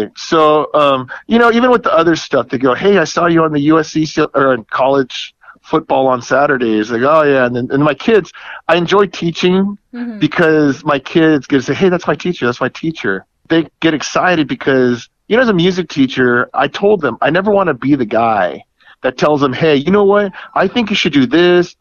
so even with the other stuff, they go, hey, I saw you on the USC or in college football on Saturdays. Like, oh yeah, and my kids, I enjoy teaching because my kids get to say, hey, that's my teacher. They get excited because as a music teacher, I told them I never want to be the guy that tells them, hey, you know what, I think you should do this.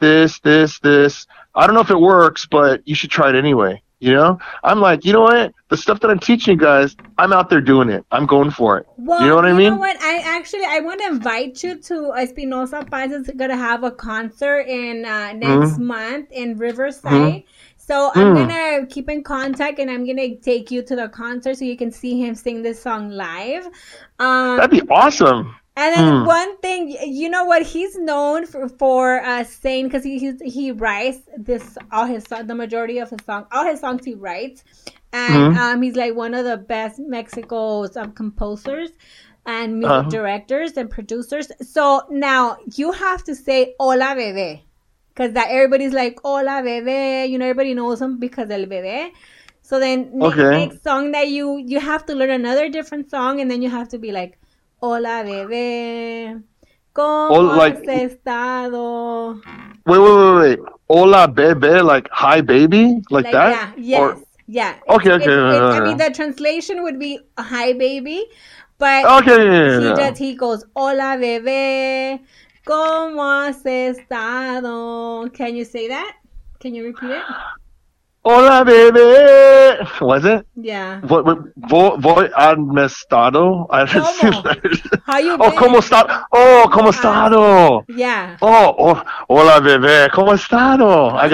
I don't know if it works, but you should try it anyway. I'm like, you know what? The stuff that I'm teaching you guys, I'm out there doing it. I'm going for it. Well, you know what I mean? You know what? I want to invite you to Espinosa Paz is going to have a concert in next month in Riverside. Mm-hmm. So I'm going to keep in contact, and I'm going to take you to the concert so you can see him sing this song live. That'd be awesome. And then one thing, you know what he's known for saying, because he writes the majority of his songs, all his songs he writes, and he's like one of the best Mexico's composers and music directors and producers. So now you have to say "Hola bebé," because that everybody's like "Hola bebé," everybody knows him because del bebé. So then next song that you have to learn another different song, and then you have to be like, hola bebé, ¿cómo has estado? Wait. Hola bebé, like hi baby? Like that? Yeah, yeah. Okay. I mean, the translation would be hi baby, but he goes, hola bebé, ¿cómo has estado? Can you say that? Can you repeat it? Hola, bebé. Was it? Yeah. Voy al estado. How you been? ¿Cómo está? Oh, ¿cómo estado? Yeah. Oh, hola, bebé. ¿Cómo estado? I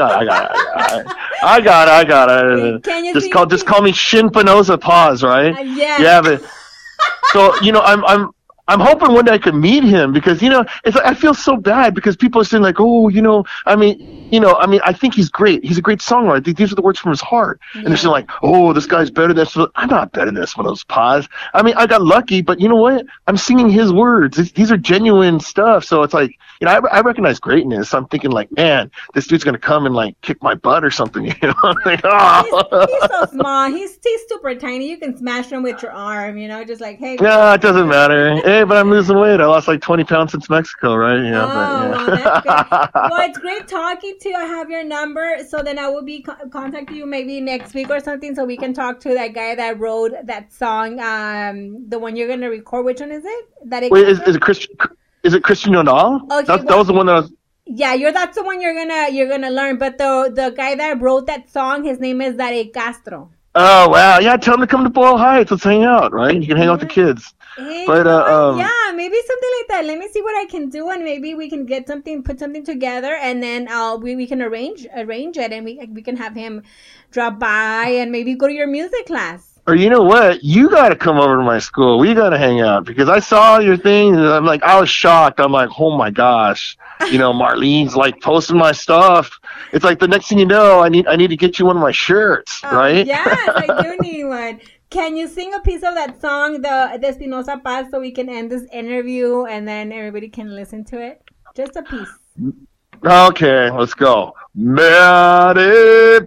got it. Can you just call me Shin Penosa Paz, right? Yeah. Yeah, but so I'm hoping one day I could meet him because, it's I feel so bad because people are saying like, oh, I think he's great. He's a great songwriter. These are the words from his heart. And they're saying like, oh, this guy's better than this. I'm not better than this one of those pods. I mean, I got lucky, but you know what? I'm singing his words. These are genuine stuff. So it's like, I recognize greatness. I'm thinking like, man, this dude's going to come and like kick my butt or something. I'm like, oh. He's so small. He's super tiny. You can smash him with your arm, just like, hey. Yeah, it doesn't matter. Hey, but I'm losing weight. I lost like 20 pounds since Mexico, right? Well, that's good. Well, it's great talking to you. I have your number, so then I will be contacting you maybe next week or something, so we can talk to that guy that wrote that song, the one you're gonna record. Which one is it? Wait, is it Christian? Is it Christian Nodal? Okay, that was the one that I was. Yeah, that's the one you're gonna learn. But the guy that wrote that song, his name is Darek Castro. Oh wow! Yeah, tell him to come to Boyle Heights. Let's hang out, right? You can hang out with the kids. Hey, but yeah, maybe something like that. Let me see what I can do, and maybe we can put something together, and then we can arrange it, and we can have him drop by and maybe go to your music class. Or you know what? You got to come over to my school. We got to hang out because I saw your thing and I'm like, I was shocked. I'm like, oh my gosh, Marlene's like posting my stuff. It's like the next thing you know, I need to get you one of my shirts, right? Yes, I do need one. Can you sing a piece of that song, the Espinosa Paz, so we can end this interview and then everybody can listen to it? Just a piece. Okay, let's go. Me haré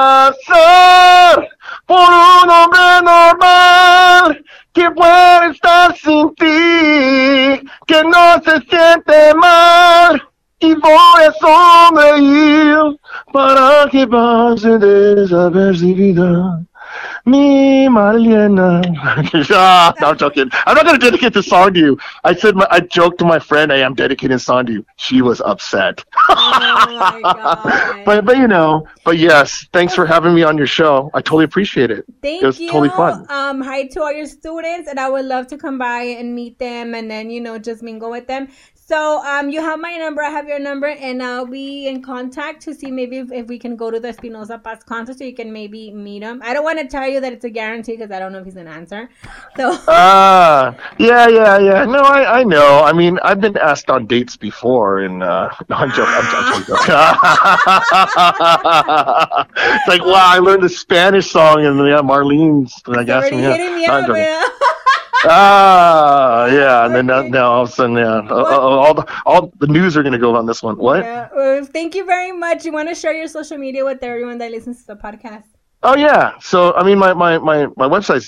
pasar por un hombre normal que puede estar sin ti, que no se siente mal y voy a sonreír para que pase desapercibida. Mi Marlena. No, I'm joking. I'm not going to dedicate this song to you. I joked to my friend, hey, I'm dedicating this song to you. She was upset. Oh my God. But yes, thanks for having me on your show. I totally appreciate it. Thank you. It was totally fun. Hi to all your students, and I would love to come by and meet them and then, just mingle with them. So you have my number, I have your number, and I'll be in contact to see maybe if we can go to the Espinosa Paz concert so you can maybe meet him. I don't want to tell you that it's a guarantee because I don't know if he's going to answer. So. Yeah. No, I know. I mean, I've been asked on dates before, and no, I'm joking. It's like, wow, I learned the Spanish song, and Marlene's. I guess. Hitting me up, man. Yeah, and then now all of a sudden, all the news are going to go on this one. What? Yeah. Thank you very much. You want to share your social media with everyone that listens to the podcast? Oh yeah. So I mean, my website's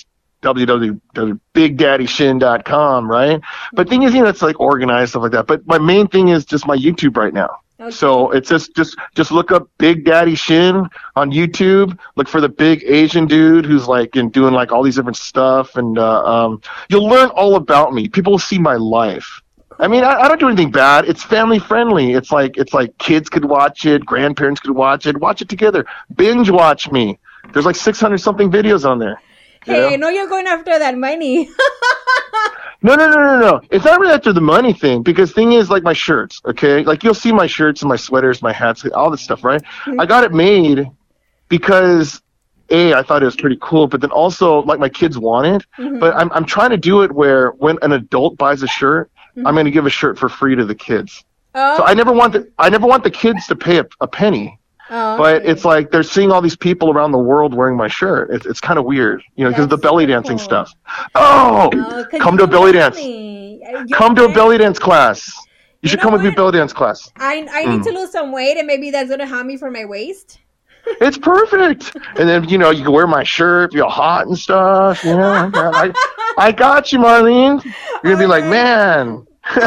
www.BigDaddyShin.com, right? But thing is, it's like organized stuff like that. But my main thing is just my YouTube right now. Okay. So it's just look up Big Daddy Shin on YouTube. Look for the big Asian dude who's like doing like all these different stuff, and you'll learn all about me. People will see my life. I mean, I don't do anything bad. It's family friendly. It's like kids could watch it, grandparents could watch it together. Binge watch me. There's like 600 something videos on there. Hey, I know you're going after that money. No. It's not really after the money thing, because thing is, like my shirts, okay? Like you'll see my shirts and my sweaters, my hats, all this stuff, right? Mm-hmm. I got it made because I thought it was pretty cool, but then also like my kids want it. Mm-hmm. But I'm trying to do it where when an adult buys a shirt, I'm going to give a shirt for free to the kids. Oh. So I never want the kids to pay a penny. Oh, but it's like they're seeing all these people around the world wearing my shirt. It's kind of weird, because of the belly dancing stuff. Oh, come to a belly dance. Come to a belly dance class. You should come with me belly dance class. I need to lose some weight, and maybe that's going to help me for my waist. It's perfect. And then, you can wear my shirt, feel hot and stuff. I got you, Marlene. You're going to be like, man.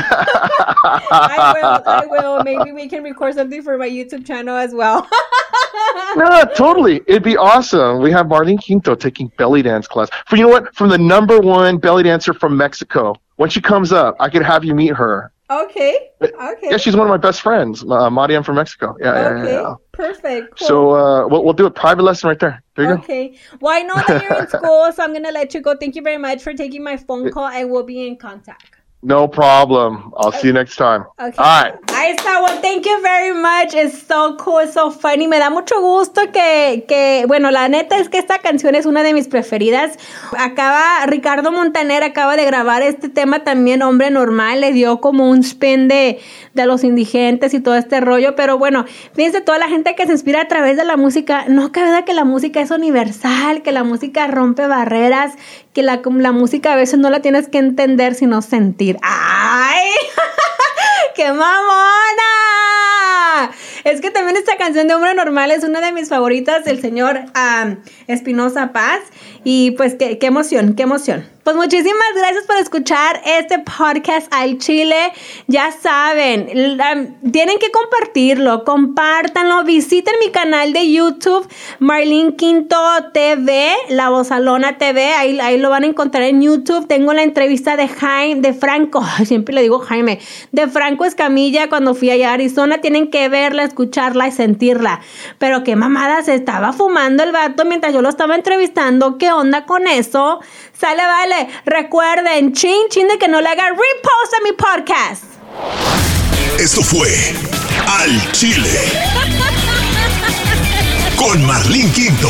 I will. Maybe we can record something for my YouTube channel as well. No, totally. It'd be awesome. We have Marlene Quinto taking belly dance class. From the #1 belly dancer from Mexico. When she comes up, I could have you meet her. Okay. Yeah, she's one of my best friends, Mariam from Mexico. Yeah. Perfect. Cool. So we'll do a private lesson right there. There you go. Okay. Well, I know that you're in school, so I'm going to let you go. Thank you very much for taking my phone call. I will be in contact. No problem. I'll see you next time. Okay. All right. Ahí está. Well, thank you very much. It's so cool, it's so funny. Me da mucho gusto que, bueno, la neta es que esta canción es una de mis preferidas. Ricardo Montaner acaba de grabar este tema también, Hombre Normal. Le dio como un spin de los indigentes y todo este rollo. Pero bueno, fíjense, toda la gente que se inspira a través de la música, no cabe duda que la música es universal, que la música rompe barreras, que la música a veces no la tienes que entender, sino sentir. ¡Ay! ¡Qué mamona! Es que también esta canción de Hombre Normal es una de mis favoritas del señor Espinosa Paz. Y pues qué emoción, qué emoción. Pues muchísimas gracias por escuchar este podcast al Chile. Ya saben, tienen que compartirlo, compártanlo, visiten mi canal de YouTube, Marlene Quinto TV, La Vozalona TV, ahí lo van a encontrar en YouTube. Tengo la entrevista de Franco, siempre le digo Jaime, de Franco Escamilla cuando fui allá a Arizona. Tienen que verla, escucharla y sentirla. Pero qué mamada, se estaba fumando el vato mientras yo lo estaba entrevistando. ¿Qué onda con eso? Sale, vale. Recuerden, chin de que no le haga repost a mi podcast. Esto fue Al Chile con Marlene Quinto.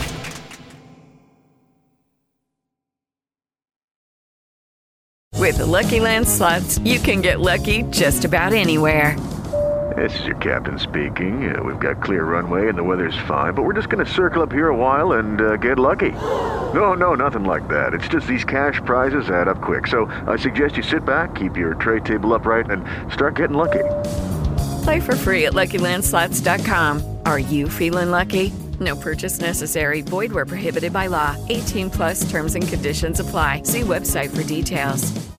With the Lucky Land Slots, you can get lucky just about anywhere. This is your captain speaking. We've got clear runway and the weather's fine, but we're just going to circle up here a while and get lucky. No, nothing like that. It's just these cash prizes add up quick. So I suggest you sit back, keep your tray table upright, and start getting lucky. Play for free at LuckyLandSlots.com. Are you feeling lucky? No purchase necessary. Void where prohibited by law. 18+ terms and conditions apply. See website for details.